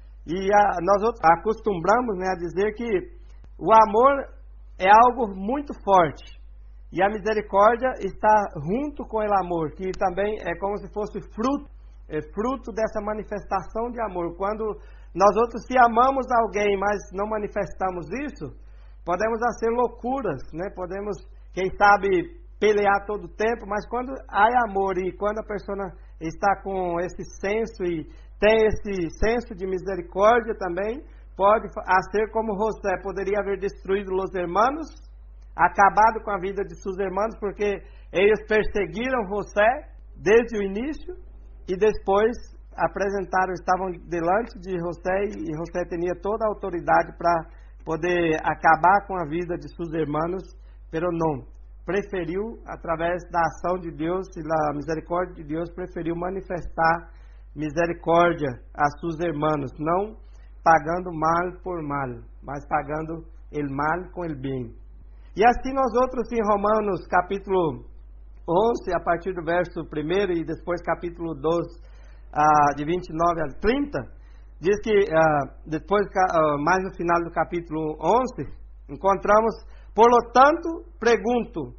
S3: E a, nós outros acostumamos, né, a dizer que o amor é algo muito forte e a misericórdia está junto com o amor, que também é como se fosse fruto, é fruto dessa manifestação de amor. Quando nós outros, se amamos alguém, mas não manifestamos isso, podemos fazer loucuras, né? Podemos, quem sabe, pelear todo o tempo, mas quando há amor e quando a pessoa está com esse senso e tem esse senso de misericórdia também, pode ser como José, poderia haver destruído os irmãos, acabado com a vida de seus irmãos, porque eles perseguiram José desde o início e depois apresentaram, estavam delante de José e José tinha toda a autoridade para poder acabar com a vida de seus irmãos, pero não. Preferiu, através da ação de Deus e da misericórdia de Deus, preferiu manifestar misericórdia a seus irmãos, não pagando mal por mal, mas pagando o mal com o bem. E assim nós outros em Romanos capítulo onze, a partir do verso primeiro e depois capítulo doze, uh, de vinte e nove a trinta, diz que uh, depois, uh, mais no final do capítulo onze, encontramos: por lo tanto, pergunto,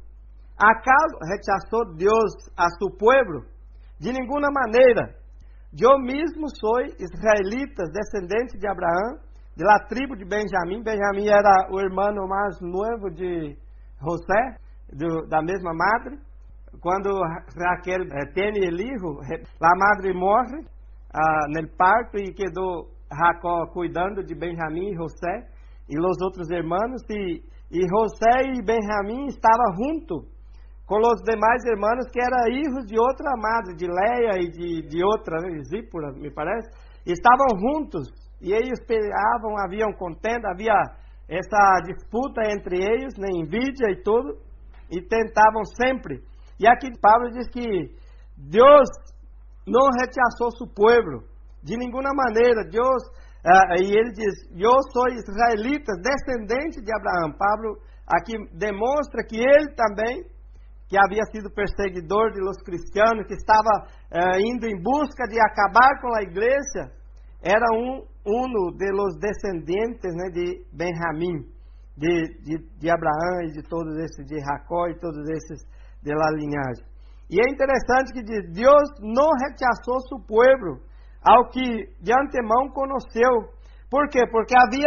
S3: acaso rechazou Deus a su pueblo? De nenhuma maneira. Eu mesmo sou israelita, descendente de Abraão, de la tribo de Benjamim. Benjamim era o irmão mais novo de José, do, da mesma madre. Quando Raquel eh, tem o filho, a madre morre ah, no parto e quedou Jacó cuidando de Benjamim e José e os outros irmãos. E, e José e Benjamim estavam junto com os demais irmãos que eram filhos de outra madre, de Leia e de, de outra, né, Zípora, me parece. Estavam juntos e eles peleavam, haviam contenda, havia essa disputa entre eles, né, envidia e tudo, e tentavam sempre. E aqui Paulo diz que Deus não rechaçou seu povo de nenhuma maneira. Deus, uh, e ele diz: eu sou israelita, descendente de Abraão. Paulo aqui demonstra que ele também, que havia sido perseguidor de los cristianos, que estava eh, indo em busca de acabar com a igreja, era um uno de los descendentes, né, de Benjamim, de, de, de Abraão e de todos esses, de Jacó e todos esses de la linhagem. E é interessante que diz, Deus não rechazou seu povo, ao que de antemão conheceu. Por quê? Porque havia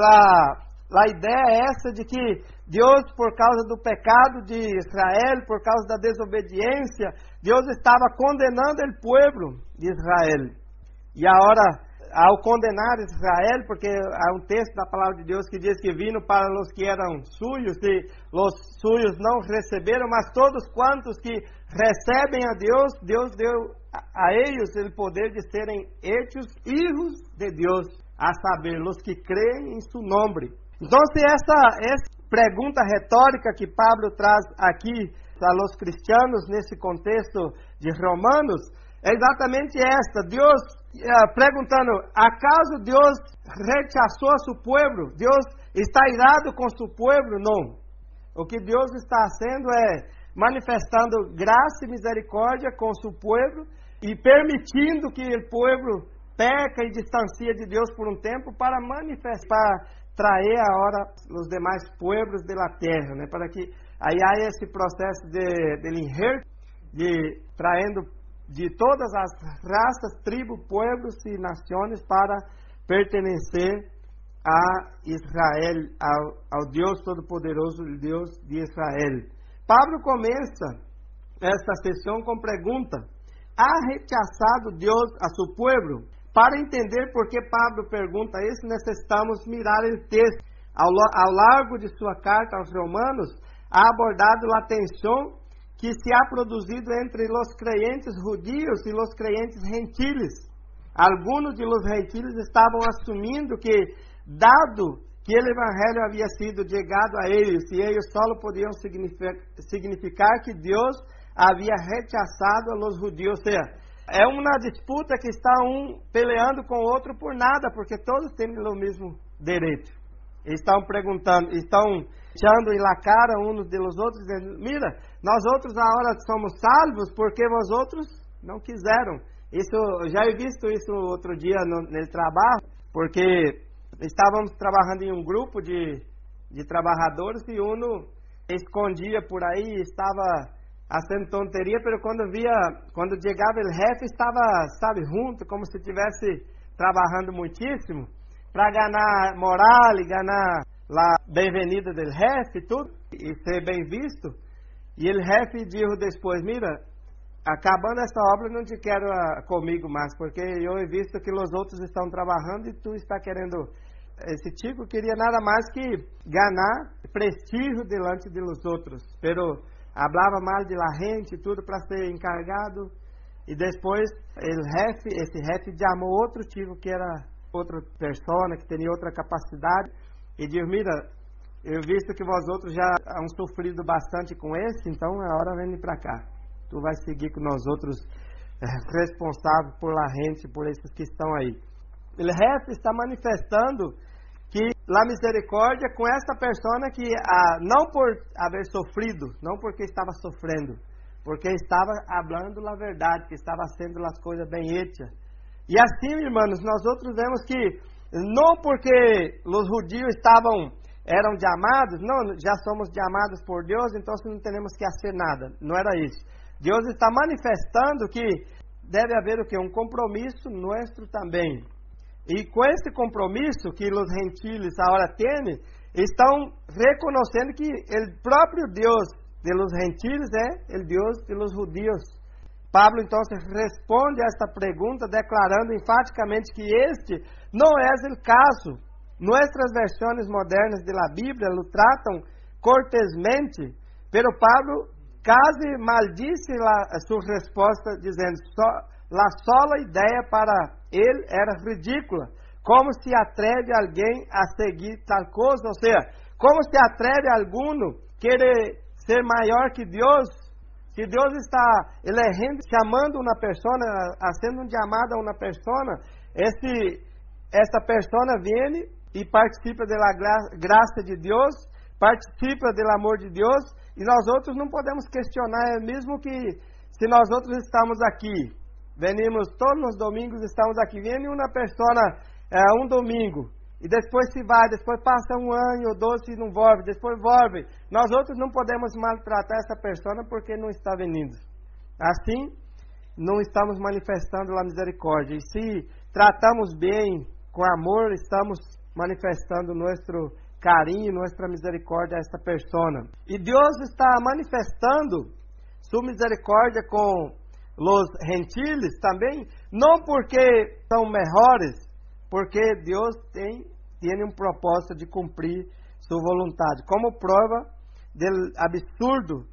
S3: a, a ideia essa de que Deus, por causa do pecado de Israel, por causa da desobediência, Deus estava condenando o povo de Israel. E agora, ao condenar Israel, porque há um texto da palavra de Deus que diz que vino para os que eram suyos, e os suyos não receberam, mas todos quantos que recebem a Deus, Deus deu a eles o poder de serem hechos hijos de Deus, a saber, os que creem em seu nome. Então, se essa, essa pergunta retórica que Pablo traz aqui a los cristianos nesse contexto de Romanos, é exatamente esta. Deus eh, perguntando, acaso Deus rechazou a seu povo? Deus está irado com seu povo? Não. O que Deus está fazendo é manifestando graça e misericórdia com seu povo e permitindo que o povo peca e distancia de Deus por um tempo para manifestar, para trazer agora os demais povos da terra, né? Para que aí há esse processo de, de injerto, de traindo de todas as raças, tribos, povos e nações para pertencer a Israel, ao, ao Deus Todo-Poderoso, o Deus de Israel. Pablo começa esta sessão com pergunta: há rechaçado Deus a seu povo? Para entender por que Pablo pergunta isso, necessitamos mirar o texto. Ao, ao largo de sua carta aos Romanos, há abordado a tensão que se ha produzido entre os crentes judios e os crentes gentiles. Alguns de los gentiles estavam assumindo que, dado que o evangelho havia sido chegado a eles, e eles só podiam significar, significar que Deus havia rechaçado a los judios. Ou seja, é uma disputa que está um peleando com o outro por nada, porque todos têm o mesmo direito. Estão perguntando, estão echando na cara uns dos outros, dizendo, mira, nós outros agora somos salvos porque vós outros não quiseram. Isso, eu já he visto isso outro dia no, no trabalho, porque estávamos trabalhando em um grupo de, de trabalhadores e um escondia por aí, estava fazendo tonteria, mas quando via, quando chegava o jefe, estava, sabe, junto, como se estivesse trabalhando muitíssimo, para ganhar moral e ganhar a bem-vinda do jefe e tudo, e ser bem visto. E o jefe disse depois, mira, acabando essa obra, não te quero uh, comigo mais, porque eu he visto que os outros estão trabalhando e tu está querendo... Esse tipo queria nada mais que ganhar prestígio delante de los outros, pero falava mal de la gente e tudo para ser encargado, e depois el jefe, esse jefe chamou outro tipo que era outra persona, que tinha outra capacidade, e diz, mira, eu visto que vós outros já hão sofrido bastante com esse, então é hora de vir para cá. Tu vai seguir com nós outros responsáveis por la gente, por esses que estão aí. O jefe está manifestando que a misericórdia com essa persona que, ah, não por haver sofrido, não porque estava sofrendo, porque estava falando a verdade, que estava sendo as coisas bem hechas. E assim, irmãos, nós outros vemos que não porque os judios estavam, eram chamados, não, já somos chamados por Deus, então não temos que fazer nada. Não era isso. Deus está manifestando que deve haver o que? Um compromisso nosso também. E com esse compromisso que os gentiles agora têm, estão reconhecendo que o próprio Deus de los gentiles é o Deus de los judios. Pablo então responde a esta pergunta declarando enfaticamente que este não é o caso. Nuestras versões modernas de la Bíblia lo tratam cortesmente, pero Pablo quase maldice a sua resposta dizendo só a sola ideia para ele era ridícula. Como se atreve alguém a seguir tal coisa? Ou seja, como se atreve alguno querer ser maior que Deus? Se Deus está elegendo, chamando uma pessoa, fazendo um chamado a uma pessoa, esse, essa pessoa vem e participa da graça de Deus, participa do amor de Deus e nós outros não podemos questionar, mesmo que se nós outros estamos aqui, venimos todos os domingos, estamos aqui, vem uma pessoa é, um domingo e depois se vai, depois passa um ano ou dois e não volve, depois volve. Nós outros não podemos maltratar essa pessoa porque não está vindo. Assim, não estamos manifestando a misericórdia. E se tratamos bem, com amor, estamos manifestando nosso carinho, nossa misericórdia a esta pessoa. E Deus está manifestando sua misericórdia com os gentiles também, não porque são melhores, porque Deus tem, tem um propósito de cumprir sua vontade. Como prova do absurdo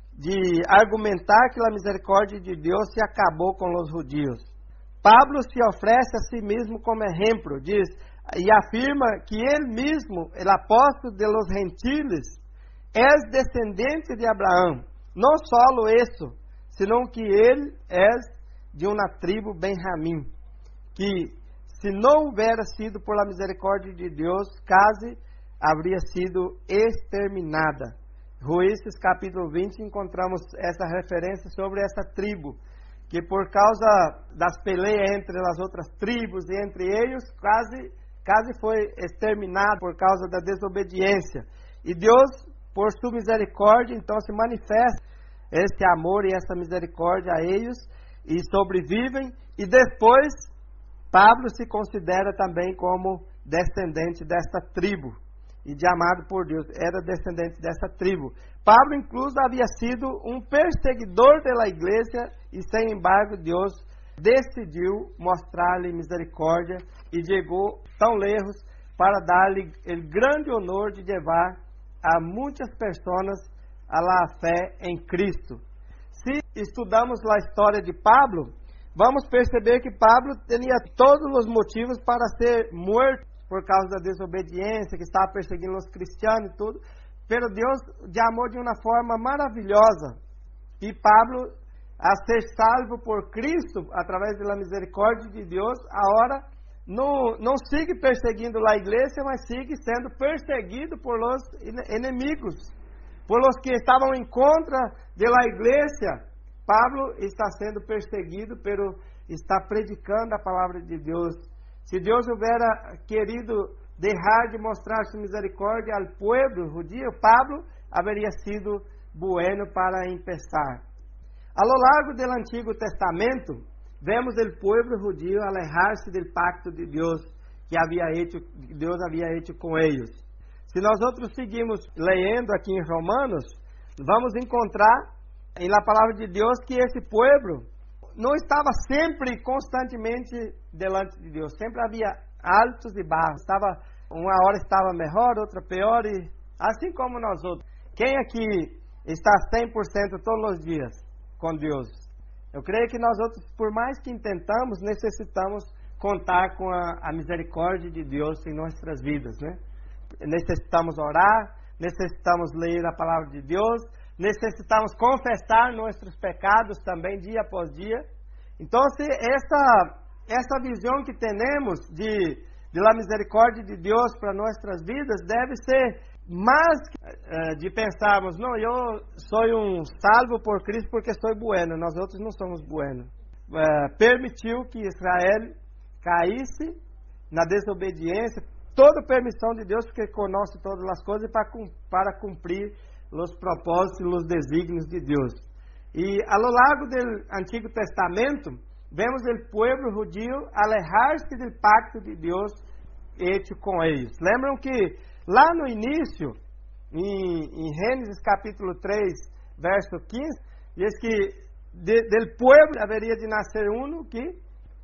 S3: de argumentar que a misericórdia de Deus se acabou com os judeus. Pablo se oferece a si mesmo como exemplo, diz, e afirma que ele mesmo, o apóstolo de los gentiles, é descendente de Abraão. Não só isso, senão que ele é de uma tribo Benjamim, que se não houvera sido por la misericórdia de Deus, quase haveria sido exterminada. Juízes capítulo vinte, encontramos essa referência sobre essa tribo, que por causa das peleias entre as outras tribos e entre eles, quase, quase foi exterminado por causa da desobediência. E Deus, por sua misericórdia, então se manifesta esse amor e essa misericórdia a eles, e sobrevivem, e depois Pablo se considera também como descendente desta tribo, e de amado por Deus, era descendente dessa tribo. Pablo, incluso, havia sido um perseguidor da igreja, e sem embargo, Deus decidiu mostrar-lhe misericórdia, e chegou tão lejos para dar-lhe o grande honor de levar a muitas pessoas a la fé em Cristo. Se estudamos a história de Pablo, vamos perceber que Pablo tinha todos os motivos para ser morto por causa da desobediência, que estava perseguindo os cristianos e tudo, pero Deus de amor de uma forma maravilhosa. E Pablo, a ser salvo por Cristo, através da misericórdia de Deus, agora não, não sigue perseguindo a igreja, mas sigue sendo perseguido por los inimigos, por los que estavam em contra da igreja. Pablo está sendo perseguido, pero está predicando a palavra de Deus. Se Deus houvera querido deixar de mostrar sua misericórdia ao povo judío, Pablo haveria sido bueno para empezar. A lo largo do Antigo Testamento, vemos o povo judío alejar-se do pacto de Deus que havia hecho, Deus havia hecho com eles. Se nós outros seguimos lendo aqui em Romanos, vamos encontrar em la palavra de Deus que esse povo não estava sempre, constantemente, delante de Deus. Sempre havia altos e baixos. Estava, uma hora estava melhor, outra pior, e assim como nós outros. Quem aqui está cem por cento todos os dias com Deus? Eu creio que nós outros, por mais que intentamos, necessitamos contar com a, a misericórdia de Deus em nossas vidas, né? Necessitamos orar, necessitamos ler a palavra de Deus, necessitamos confessar nossos pecados também dia após dia. Então, essa, essa visão que temos de, de la misericórdia de Deus para nossas vidas deve ser mais uh, de pensarmos, não, eu sou um salvo por Cristo porque sou bueno, nós outros não somos buenos. Uh, permitiu que Israel caísse na desobediência, toda permissão de Deus, porque conosce todas as coisas para, para cumprir os propósitos e os desígnios de Deus. E ao longo do Antigo Testamento, vemos o povo judío alejar-se do pacto de Deus hecho com eles. Lembram que lá no início, em, em Gênesis capítulo três, verso quinze, diz que de, del povo haveria de nascer um que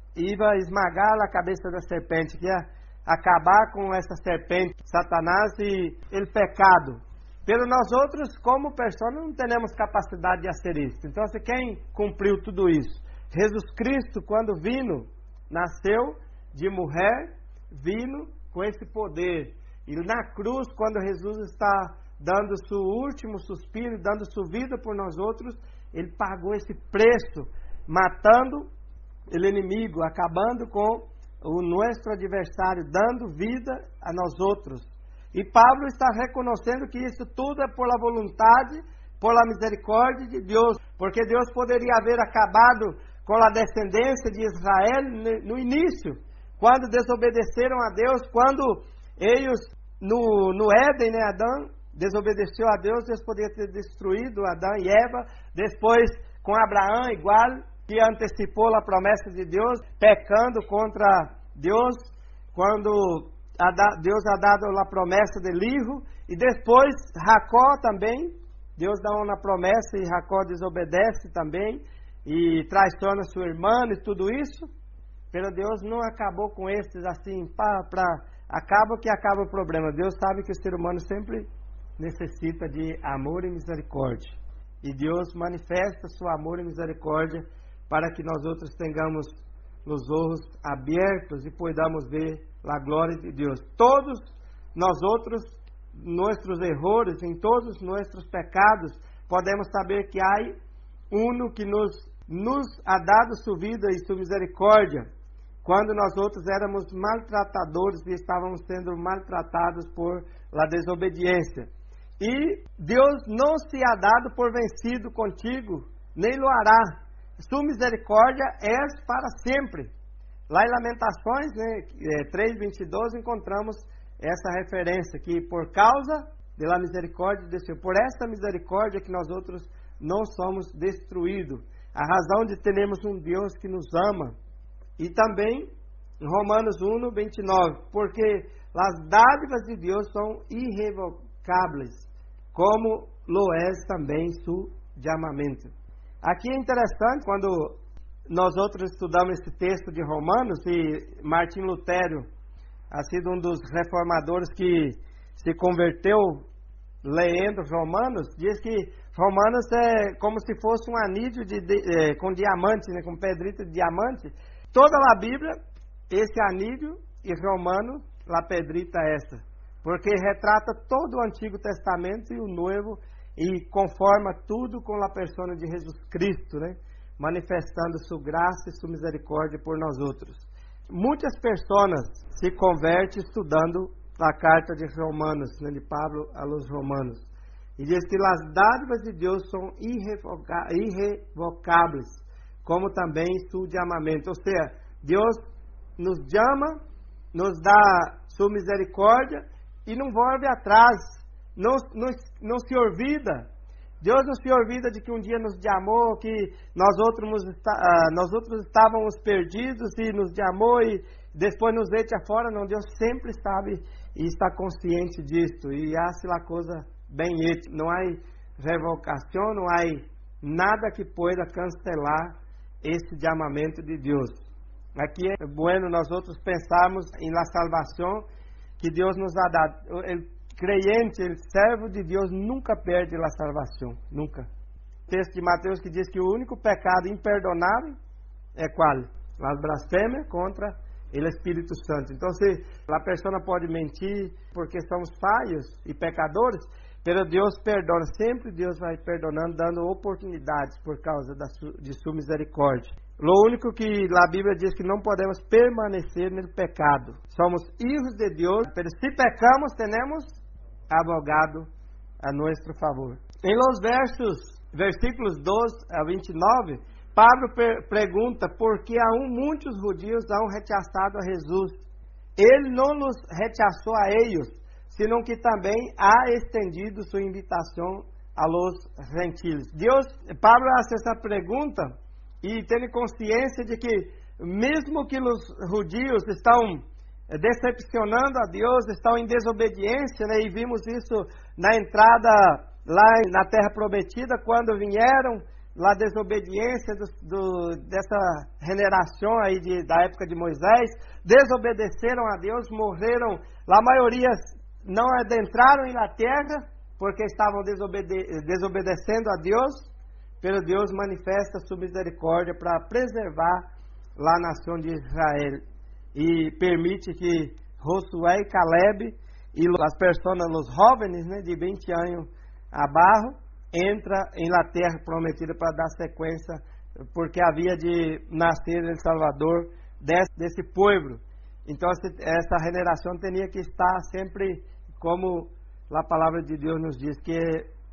S3: ia esmagar a cabeça da serpente, que ia acabar com essa serpente, Satanás e o pecado. Pero nós outros, como pessoas, não temos capacidade de fazer isso. Então, quem cumpriu tudo isso? Jesus Cristo, quando vino, nasceu de mulher, vino com esse poder. E na cruz, quando Jesus está dando seu último suspiro, dando sua vida por nós outros, ele pagou esse preço, matando o inimigo, acabando com o nosso adversário, dando vida a nós outros. E Pablo está reconhecendo que isso tudo é por la vontade, por la misericórdia de Deus, porque Deus poderia haver acabado com a descendência de Israel no início, quando desobedeceram a Deus, quando eles no, no Éden, né, Adão desobedeceu a Deus, Deus poderia ter destruído Adão e Eva, depois com Abraão igual, que antecipou a promessa de Deus, pecando contra Deus, quando Deus ha dado a promessa del Hijo, e depois Jacó também, Deus dá uma promessa e Jacó desobedece também, e traiciona sua irmã e tudo isso, mas Deus não acabou com esses assim, para acaba que acaba o problema. Deus sabe que o ser humano sempre necessita de amor e misericórdia, e Deus manifesta seu amor e misericórdia para que nós outros tenhamos os olhos abertos e podamos ver a glória de Deus. Todos nós outros, nossos erros, em todos os nossos pecados, podemos saber que há um que nos, nos ha dado sua vida e sua misericórdia, quando nós outros éramos maltratadores e estávamos sendo maltratados por la desobediência. E Deus não se ha dado por vencido contigo, nem lo hará. Sua misericórdia é para sempre. Lá em Lamentações, né, três, vinte e dois, encontramos essa referência, que por causa da misericórdia de Deus, por essa misericórdia que nós outros não somos destruídos. A razão de termos um Deus que nos ama. E também, em Romanos um, vinte e nove, porque as dádivas de Deus são irrevocáveis, como lo é também su chamamento. Aqui é interessante, quando nós outros estudamos esse texto de Romanos, e Martim Lutero ha sido um dos reformadores que se converteu lendo Romanos, diz que Romanos é como se fosse um anillo de, de, é, com diamante, né, com pedrita de diamante. Toda a Bíblia, esse anillo, e Romano, a pedrita essa, porque retrata todo o Antigo Testamento e o Novo, e conforma tudo com a persona de Jesus Cristo, né? Manifestando sua graça e sua misericórdia por nós outros. Muitas pessoas se convertem estudando a carta de Romanos, né, de Pablo a los Romanos, e diz que as dádivas de Deus são irrevocáveis, como também seu chamamento. Ou seja, Deus nos chama, nos dá sua misericórdia e não volve atrás. Não, não, não se olvida. Deus não se olvida de que um dia nos chamou, que nós outros, nós outros estávamos perdidos e nos chamou e depois nos echa fora. Não, Deus sempre sabe e está consciente disso. E hace a coisa bem hecha. Não há revocação, não há nada que pueda cancelar esse chamamento de Deus. Aqui é bueno nós outros pensarmos em la salvação que Deus nos ha dado. Ele, Creyente, o servo de Deus nunca perde a salvação, nunca. O texto de Mateus que diz que o único pecado imperdonável é qual? A blasfêmia contra o Espírito Santo. Então, se a pessoa pode mentir porque somos falhos e pecadores, mas Deus perdona, sempre Deus vai perdonando, dando oportunidades por causa da su, de sua misericórdia. O único que a Bíblia diz que não podemos permanecer no pecado. Somos filhos de Deus, mas se pecamos, temos abogado a nosso favor. Em los versos, versículos doze a vinte e nove, Pablo per pergunta por que aún muitos judeus han rechazado a Jesus. Ele não nos rechaçou a eles, senão que também ha estendido sua invitação a los gentiles. Deus, Pablo faz essa pergunta e tem consciência de que mesmo que os judeus estão decepcionando a Deus, estão em desobediência, né? E vimos isso na entrada lá na Terra Prometida, quando vieram lá a desobediência do, do, dessa generação aí de, da época de Moisés, desobedeceram a Deus, morreram, a maioria não adentraram em la terra, porque estavam desobede desobedecendo a Deus, pero Deus manifesta sua misericórdia para preservar lá a nação de Israel. E permite que Josué e Caleb e as pessoas, os jovens, né, de vinte anos abaixo, entra em la terra prometida para dar sequência, porque havia de nascer El Salvador desse, desse povo. Então essa geração tinha que estar sempre como a palavra de Deus nos diz, que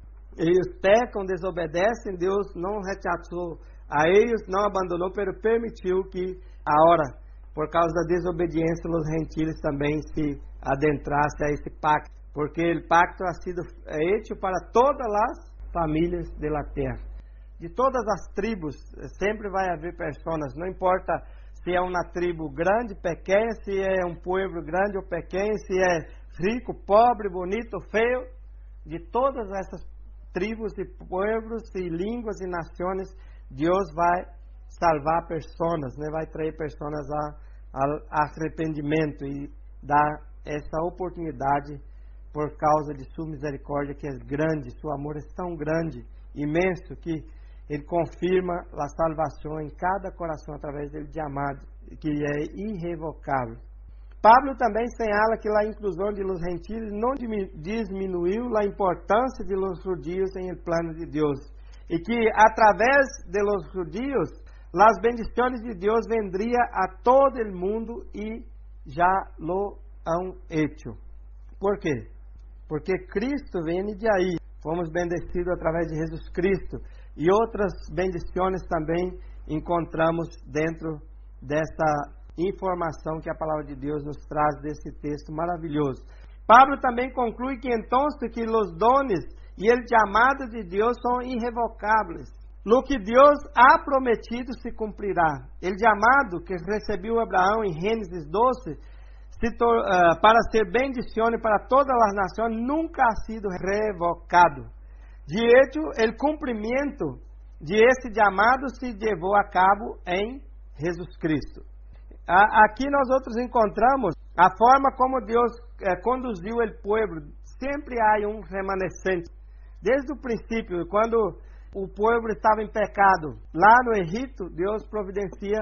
S3: eles pecam, desobedecem, Deus não rechazou a eles, não abandonou, mas permitiu que agora, por causa da desobediência, os gentiles também se adentrassem a esse pacto, porque o pacto ha sido hecho para todas as famílias da terra. De todas as tribos, sempre vai haver pessoas, não importa se é uma tribo grande, pequena, se é um povo grande ou pequeno, se é rico, pobre, bonito, feio, de todas essas tribos e povos e línguas e nações, Deus vai salvar pessoas, né? Vai trazer pessoas ao arrependimento e dar essa oportunidade por causa de sua misericórdia, que é grande, seu amor é tão grande, imenso, que Ele confirma a salvação em cada coração através dele de amado, que é irrevocável. Pablo também señala que a inclusão de los gentiles não diminuiu a importância de los judíos em el plano de Deus, e que através de los judíos as bendições de Deus vendria a todo el mundo e já lo han hecho. Por quê? Porque Cristo vem de aí. Fomos bendecidos através de Jesus Cristo. E outras bendições também encontramos dentro dessa informação que a palavra de Deus nos traz desse texto maravilhoso. Pablo também conclui que então que os dones e o chamado de Deus são irrevocáveis. Lo que Deus ha prometido se cumprirá. O chamado que recebeu Abraão em Gênesis doze se uh, para ser bendição para todas as nações nunca ha sido revocado. De hecho, o cumprimento de esse chamado se levou a cabo em Jesus Cristo. Aqui nós outros encontramos a forma como Deus eh, conduziu o povo. Sempre há um remanescente. Desde o princípio, quando o povo estava em pecado, lá no Egito, Deus providencia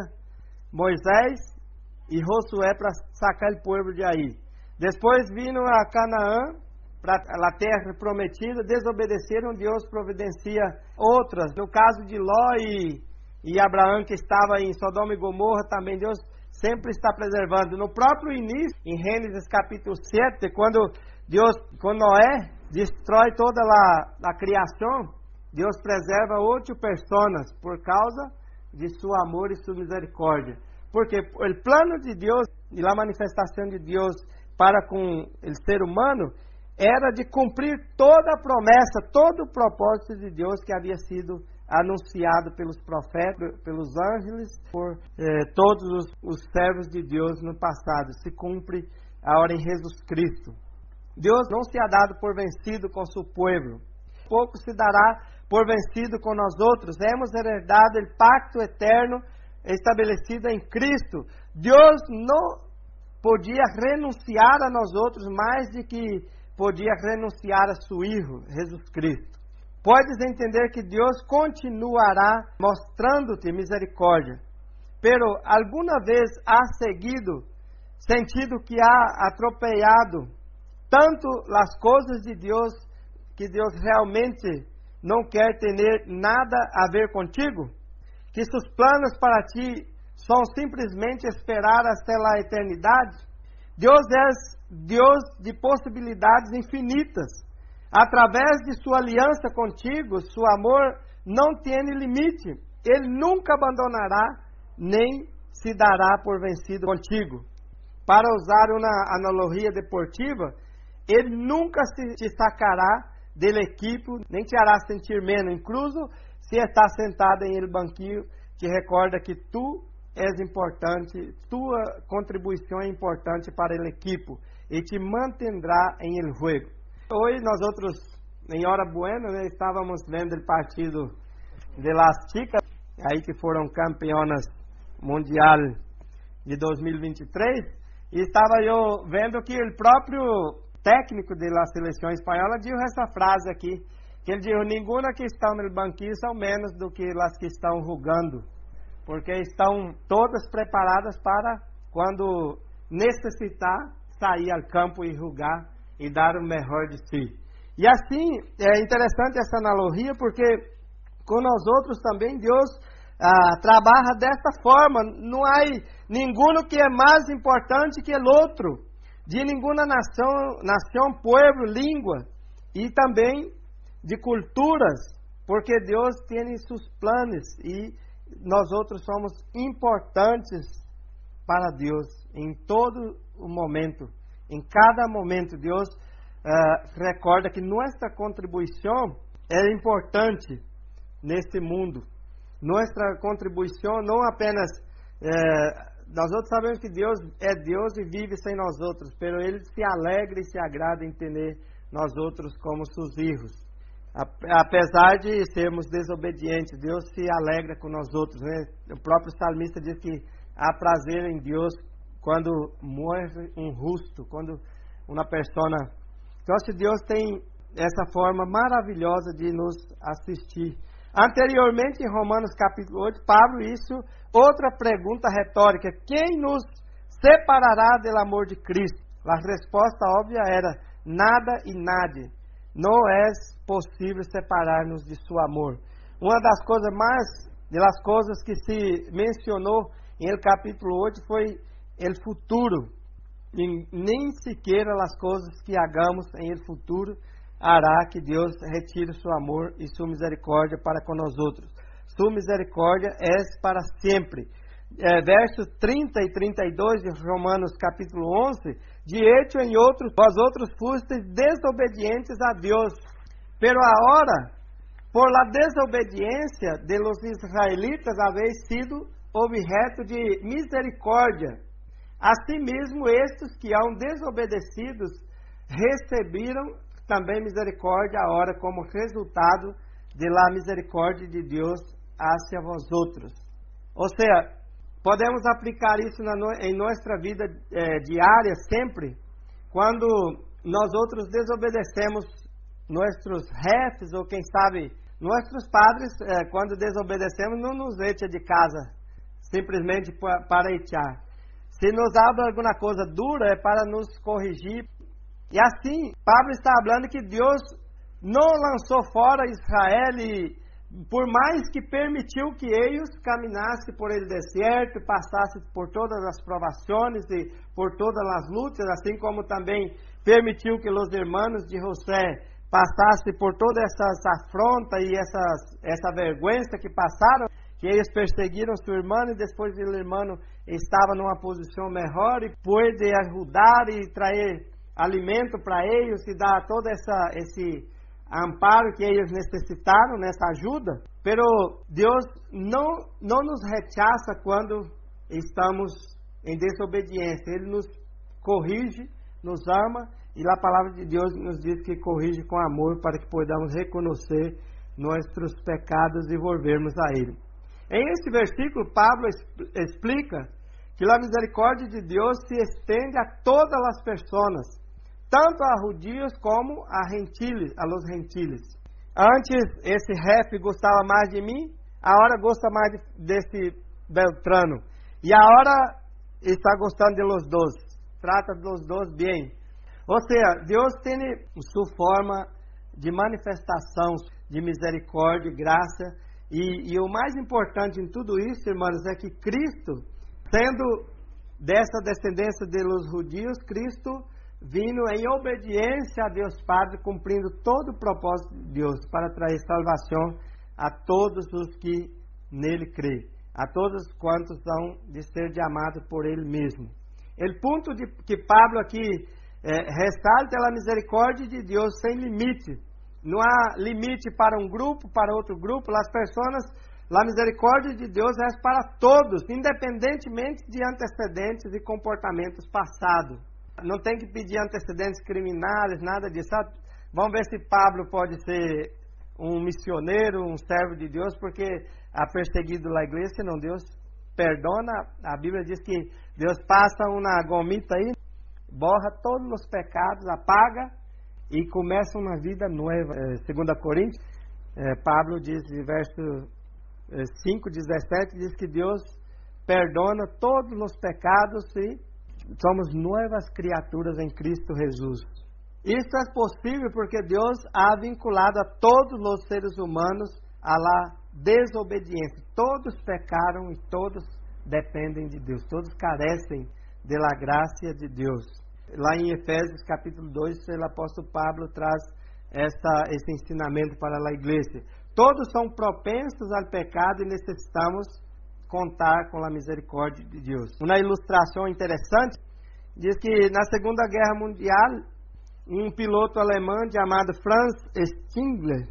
S3: Moisés e Josué para sacar o povo de aí. Depois vindo a Canaã, para a terra prometida, desobedeceram, Deus providencia outras. No caso de Ló e, e Abraão, que estava em Sodoma e Gomorra, também Deus sempre está preservando. No próprio início, em Gênesis capítulo sete, quando Deus, quando Noé destrói toda a, a criação, Deus preserva oito pessoas por causa de seu amor e sua misericórdia. Porque o plano de Deus e a manifestação de Deus para com o ser humano era de cumprir toda a promessa, todo o propósito de Deus que havia sido anunciado pelos profetas, pelos anjos, por eh, todos os, os servos de Deus no passado. Se cumpre agora em Jesus Cristo. Deus não se ha dado por vencido com seu povo, pouco se dará por vencido com nós outros. Hemos herdado o pacto eterno estabelecido em Cristo. Deus não podia renunciar a nós outros mais de que podia renunciar a seu Filho, Jesus Cristo. Podes entender que Deus continuará mostrando-te misericórdia, pero alguma vez há seguido, sentido que há atropelado tanto as coisas de Deus, que Deus realmente não quer ter nada a ver contigo? Que seus planos para ti são simplesmente esperar até a eternidade? Deus é Deus de possibilidades infinitas. Através de sua aliança contigo, seu amor não tem limite. Ele nunca abandonará, nem se dará por vencido contigo. Para usar uma analogia deportiva, ele nunca se te sacará do equipo, nem te hará sentir menos, incluso se está sentado em el banquinho, que recorda que tu és importante, tua contribuição é importante para o equipo, e te mantendrá em el juego. Hoje nós outros, em hora buena, né, estávamos vendo o partido de las chicas, aí que foram campeonas mundial de dois mil e vinte e três, e estava eu vendo que o próprio técnico da seleção espanhola disse essa frase aqui, que ele disse: nenhuma que está no banquinho são menos do que as que estão jogando, porque estão todas preparadas para, quando necessitar, sair ao campo e jogar e dar o melhor de si. E assim, é interessante essa analogia, porque com nós outros também Deus ah, trabalha desta forma. Não há nenhum que é mais importante que o outro. de nenhuma nação, nação, pueblo, língua e também de culturas, porque Deus tem seus planos e nós outros somos importantes para Deus em todo o momento, em cada momento. Deus uh, recorda que nossa contribuição é importante neste mundo. Nossa contribuição não apenas uh, nós outros sabemos que Deus é Deus e vive sem nós outros, pero Ele se alegra e se agrada em ter nós outros como seus filhos. Apesar de sermos desobedientes, Deus se alegra com nós outros, né? O próprio salmista diz que há prazer em Deus quando morre um justo, quando uma pessoa... Então, se Deus tem essa forma maravilhosa de nos assistir. Anteriormente, em Romanos capítulo oito, Pablo isso, outra pergunta retórica: quem nos separará do amor de Cristo? A resposta óbvia era: nada e nadie. Não é possível separar-nos de seu amor. Uma das coisas mais, das coisas que se mencionou em el capítulo oito foi o futuro. E nem sequer as coisas que hagamos em el futuro hará que Deus retire seu amor e sua misericórdia para com nós outros. Sua misericórdia é para sempre. É, versos trinta e trinta e dois de Romanos capítulo onze: de hecho em outros, vós outros fostes desobedientes a Deus, pero agora, por la desobediência de los israelitas, habéis sido objeto de misericórdia. Asimismo, estes que hão desobedecidos receberam também misericórdia agora como resultado de la misericórdia de Deus hacia vós outros. Ou seja, podemos aplicar isso na, em nossa vida eh, diária sempre, quando nós outros desobedecemos nossos chefes, ou quem sabe, nossos padres, eh, quando desobedecemos, não nos echa de casa, simplesmente para echar. Se nos habla alguma coisa dura, é para nos corrigir. E assim, Pablo está falando que Deus não lançou fora Israel, e por mais que permitiu que eles caminassem por el deserto, passassem por todas as provações e por todas as lutas, assim como também permitiu que os irmãos de José passassem por toda essa afronta e essas, essa vergonha que passaram, que eles perseguiram seu irmão e depois o irmão estava numa posição melhor e pôde ajudar e trazer alimento para eles e dar todo essa, esse amparo que eles necessitaram nessa ajuda. Pero Deus não, não nos rechaça quando estamos em desobediência. Ele nos corrige, nos ama, e a palavra de Deus nos diz que corrige com amor para que podamos reconhecer nossos pecados e volvermos a Ele. Em este versículo, Pablo explica que a misericórdia de Deus se estende a todas as pessoas, tanto a judios como a gentiles, a los gentiles. Antes esse ref gostava mais de mim, agora gosta mais de, desse Beltrano. E agora está gostando de los dois. Trata de los dois bem. Ou seja, Deus tem sua forma de manifestação de misericórdia e graça. E, e o mais importante em tudo isso, irmãos, é que Cristo, sendo dessa descendência de los judios, Cristo vindo em obediência a Deus Padre, cumprindo todo o propósito de Deus para trazer salvação a todos os que nele creem, a todos quantos são de ser amados por Ele mesmo. O ponto de, que Pablo aqui eh, ressalta é a misericórdia de Deus sem limite. Não há limite para um grupo, para outro grupo. As pessoas, a misericórdia de Deus é para todos, independentemente de antecedentes e comportamentos passados. Não tem que pedir antecedentes criminais, nada disso. Vamos ver se Pablo pode ser um missioneiro, um servo de Deus, porque há perseguido a igreja, não, Deus perdona. A Bíblia diz que Deus passa uma gomita aí, borra todos os pecados, apaga e começa uma vida nova. Segunda Coríntios, Pablo diz, verso cinco, dezessete, diz que Deus perdona todos os pecados e somos novas criaturas em Cristo Jesus. Isso é possível porque Deus ha vinculado a todos os seres humanos a la desobediência. Todos pecaram e todos dependem de Deus. Todos carecem da graça de Deus. lá em Efésios capítulo dois, o apóstolo Pablo traz essa, esse ensinamento para a igreja. Todos são propensos ao pecado e necessitamos contar com a misericórdia de Deus. Uma ilustração interessante diz que na Segunda Guerra Mundial, um piloto alemão chamado Franz Stingler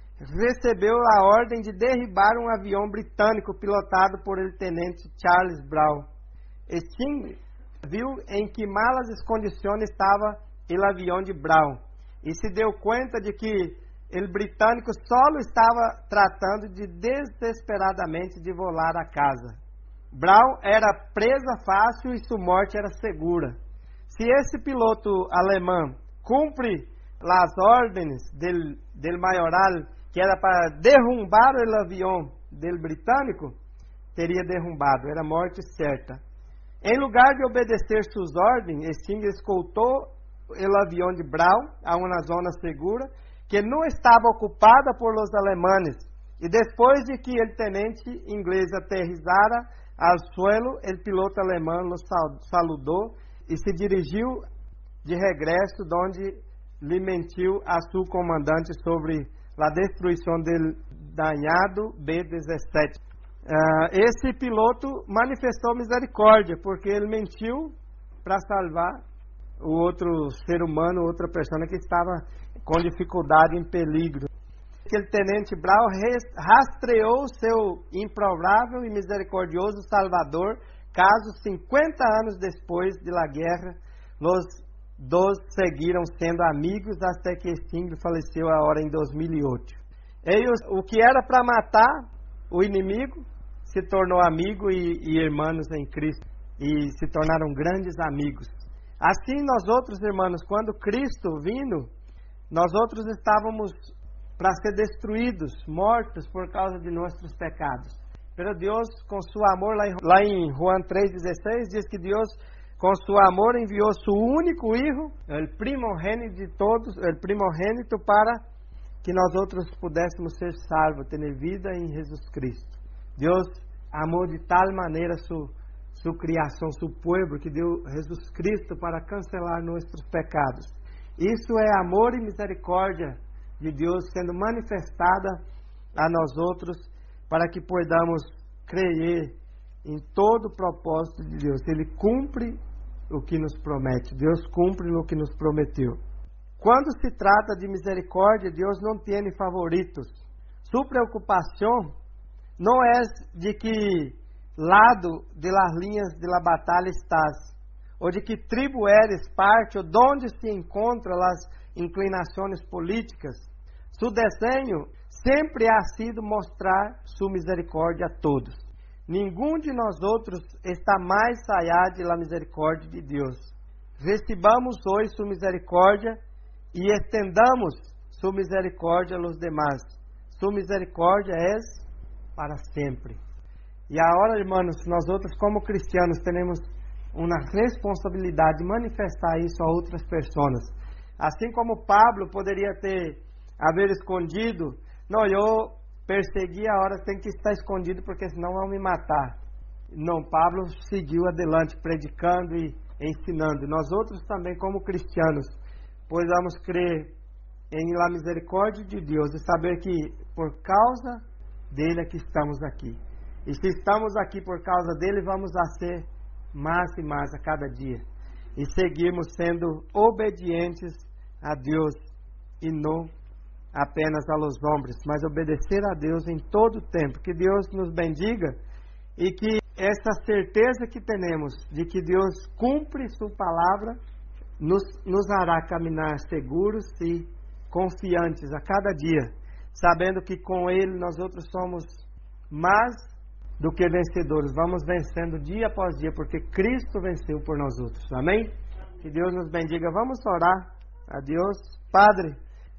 S3: recebeu a ordem de derribar um avião britânico pilotado por ele tenente Charles Brown. Stingler viu em que malas condições estava o avião de Brown e se deu conta de que o britânico só estava tratando de desesperadamente de volar a casa. Brown era presa fácil e sua morte era segura. Se esse piloto alemão cumpre as ordens del, del maioral, que era para derrubar o avião del britânico, teria derrumbado, era morte certa. Em lugar de obedecer suas ordens, Stingler escoltou o avião de Brown a uma zona segura que não estava ocupada por los alemães. E depois de que o tenente inglês aterrissara ao suelo, o piloto alemão los saludou e se dirigiu de regresso, onde lhe mentiu a seu comandante sobre a destruição do danhado B dezessete. Uh, esse piloto manifestou misericórdia, porque ele mentiu para salvar o outro ser humano, outra pessoa que estava com dificuldade, em peligro. Aquele tenente Brown rastreou seu improvável e misericordioso Salvador, caso cinquenta anos depois de la guerra, os dois seguiram sendo amigos até que Stingler faleceu agora em dois mil e oito. Eles, o que era para matar o inimigo, se tornou amigo e, e irmãos em Cristo, e se tornaram grandes amigos. Assim, nós outros, irmãos, quando Cristo vindo, nós outros estávamos para ser destruídos, mortos por causa de nossos pecados. Pero Deus, com seu amor, lá em, lá em João três dezesseis, diz que Deus, com seu amor, enviou seu único Filho, o primogênito de todos, o primogênito, para que nós outros pudéssemos ser salvos, ter vida em Jesus Cristo. Deus amou de tal maneira sua, sua criação, seu povo, que deu Jesus Cristo para cancelar nossos pecados. Isso é amor e misericórdia de Deus sendo manifestada a nós outros, para que podamos crer em todo o propósito de Deus. Ele cumpre o que nos promete. Deus cumpre o que nos prometeu. Quando se trata de misericórdia, Deus não tem favoritos. Sua preocupação não é de que lado de las linhas de la batalha estás, ou de que tribo eres parte, ou de onde se encontram as inclinações políticas. Seu desenho sempre ha sido mostrar sua misericórdia a todos. Nenhum de nós outros está mais allá de la misericórdia de Deus. Recebamos hoje sua misericórdia e estendamos sua misericórdia aos demais. Sua misericórdia é para sempre. E agora, irmãos, nós outros como cristianos temos uma responsabilidade de manifestar isso a outras pessoas. Assim como Pablo poderia ter haver escondido, não, eu persegui, a hora tem que estar escondido porque senão vão me matar. Não, Pablo seguiu adelante predicando e ensinando. Nós outros também como cristianos podemos crer em la misericórdia de Deus e saber que por causa dele é que estamos aqui. E se estamos aqui por causa dele, vamos a ser mais e mais a cada dia. E seguirmos sendo obedientes a Deus e não apenas a los homens, mas obedecer a Deus em todo o tempo. Que Deus nos bendiga e que essa certeza que temos de que Deus cumpre sua palavra nos, nos hará caminhar seguros e confiantes a cada dia, sabendo que com Ele nós outros somos mais do que vencedores. Vamos vencendo dia após dia, porque Cristo venceu por nós outros. Amém? Que Deus nos bendiga. Vamos orar a Deus. Padre,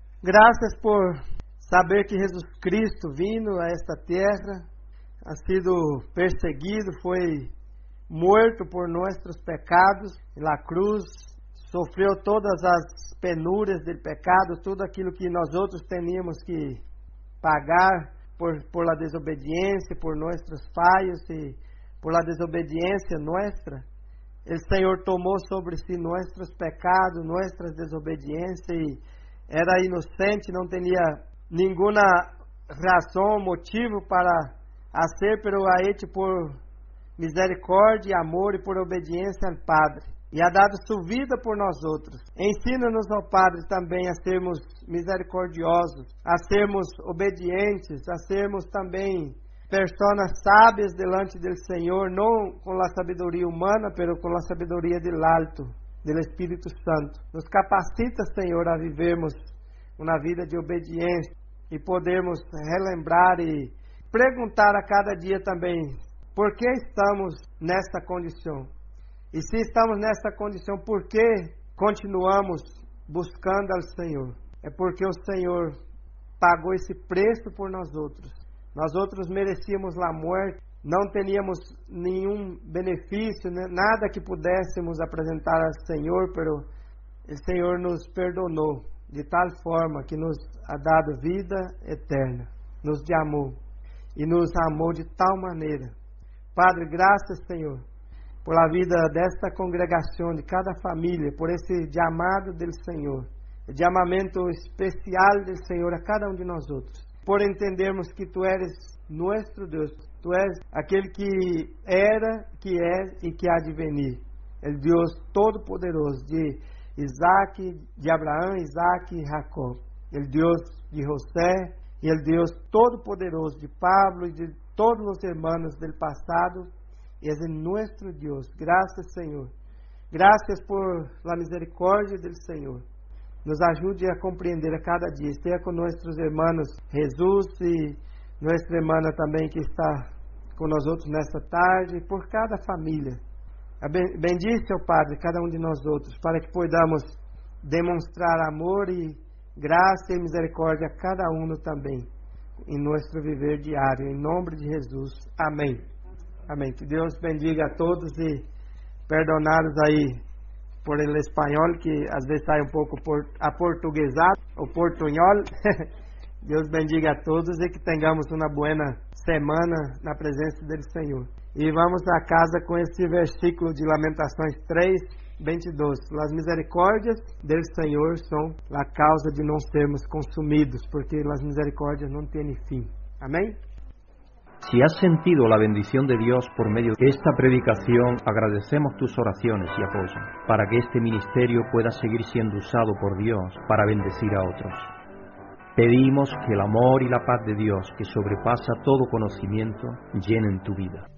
S3: graças por saber que Jesus Cristo vindo a esta terra, ha sido perseguido, foi morto por nossos pecados na cruz, sofreu todas as penúrias do pecado, tudo aquilo que nós outros teníamos que pagar por, por la desobediência, por nossos falhos e por la desobediência nossa. o Senhor tomou sobre si nossos pecados, nossas desobediências, e era inocente, não tinha nenhuma razão, motivo para fazer, pero a Ele por misericórdia, amor e por obediência ao Padre, e ha dado sua vida por nós outros. Ensina-nos, ó Padre, também a sermos misericordiosos, a sermos obedientes, a sermos também pessoas sábias delante do Senhor, não com a sabedoria humana, pero com a sabedoria do alto, do Espírito Santo. Nos capacita, Senhor, a vivermos uma vida de obediência e podermos relembrar e perguntar a cada dia também, por que estamos nesta condição? E se estamos nessa condição, por que continuamos buscando ao Senhor? É porque o Senhor pagou esse preço por nós outros. Nós outros merecíamos a morte, não teníamos nenhum benefício, nada que pudéssemos apresentar ao Senhor, pero o Senhor nos perdonou de tal forma que nos ha dado vida eterna, nos amou e nos amou de tal maneira. Padre, graças, Senhor, por a vida desta congregação, de cada família, por esse chamado do Senhor, o chamamento especial do Senhor a cada um de nós outros, por entendermos que Tu eres nosso Deus, Tu és aquele que era, que é e que há de venir, o Deus Todo-Poderoso de Isaac, de Abraão, Isaac e Jacó, o Deus de José e o Deus Todo-Poderoso de Pablo e de todos os irmãos do passado, e é nosso Deus. Graças, Senhor. Graças por la misericórdia do Senhor. Nos ajude a compreender a cada dia. Esteja com nossos irmãos Jesus e nossa irmã também que está com nós outros nesta tarde, por cada família. Bendice, ó Padre, cada um de nós outros, para que podamos demonstrar amor e graça e misericórdia a cada um também, em nosso viver diário, em nome de Jesus. Amém. Amém. Que Deus bendiga a todos e perdonados aí por el espanhol, que às vezes sai um pouco aportuguesado, o portunhol. Deus bendiga a todos e que tenhamos uma boa semana na presença do Senhor. E vamos a casa com esse versículo de Lamentações três, vinte e dois. As misericórdias do Senhor são a causa de não sermos consumidos, porque as misericórdias não têm fim. Amém?
S1: Si has sentido la bendición de Dios por medio de esta predicación, agradecemos tus oraciones y apoyo, para que este ministerio pueda seguir siendo usado por Dios para bendecir a otros. Pedimos que el amor y la paz de Dios, que sobrepasa todo conocimiento, llenen tu vida.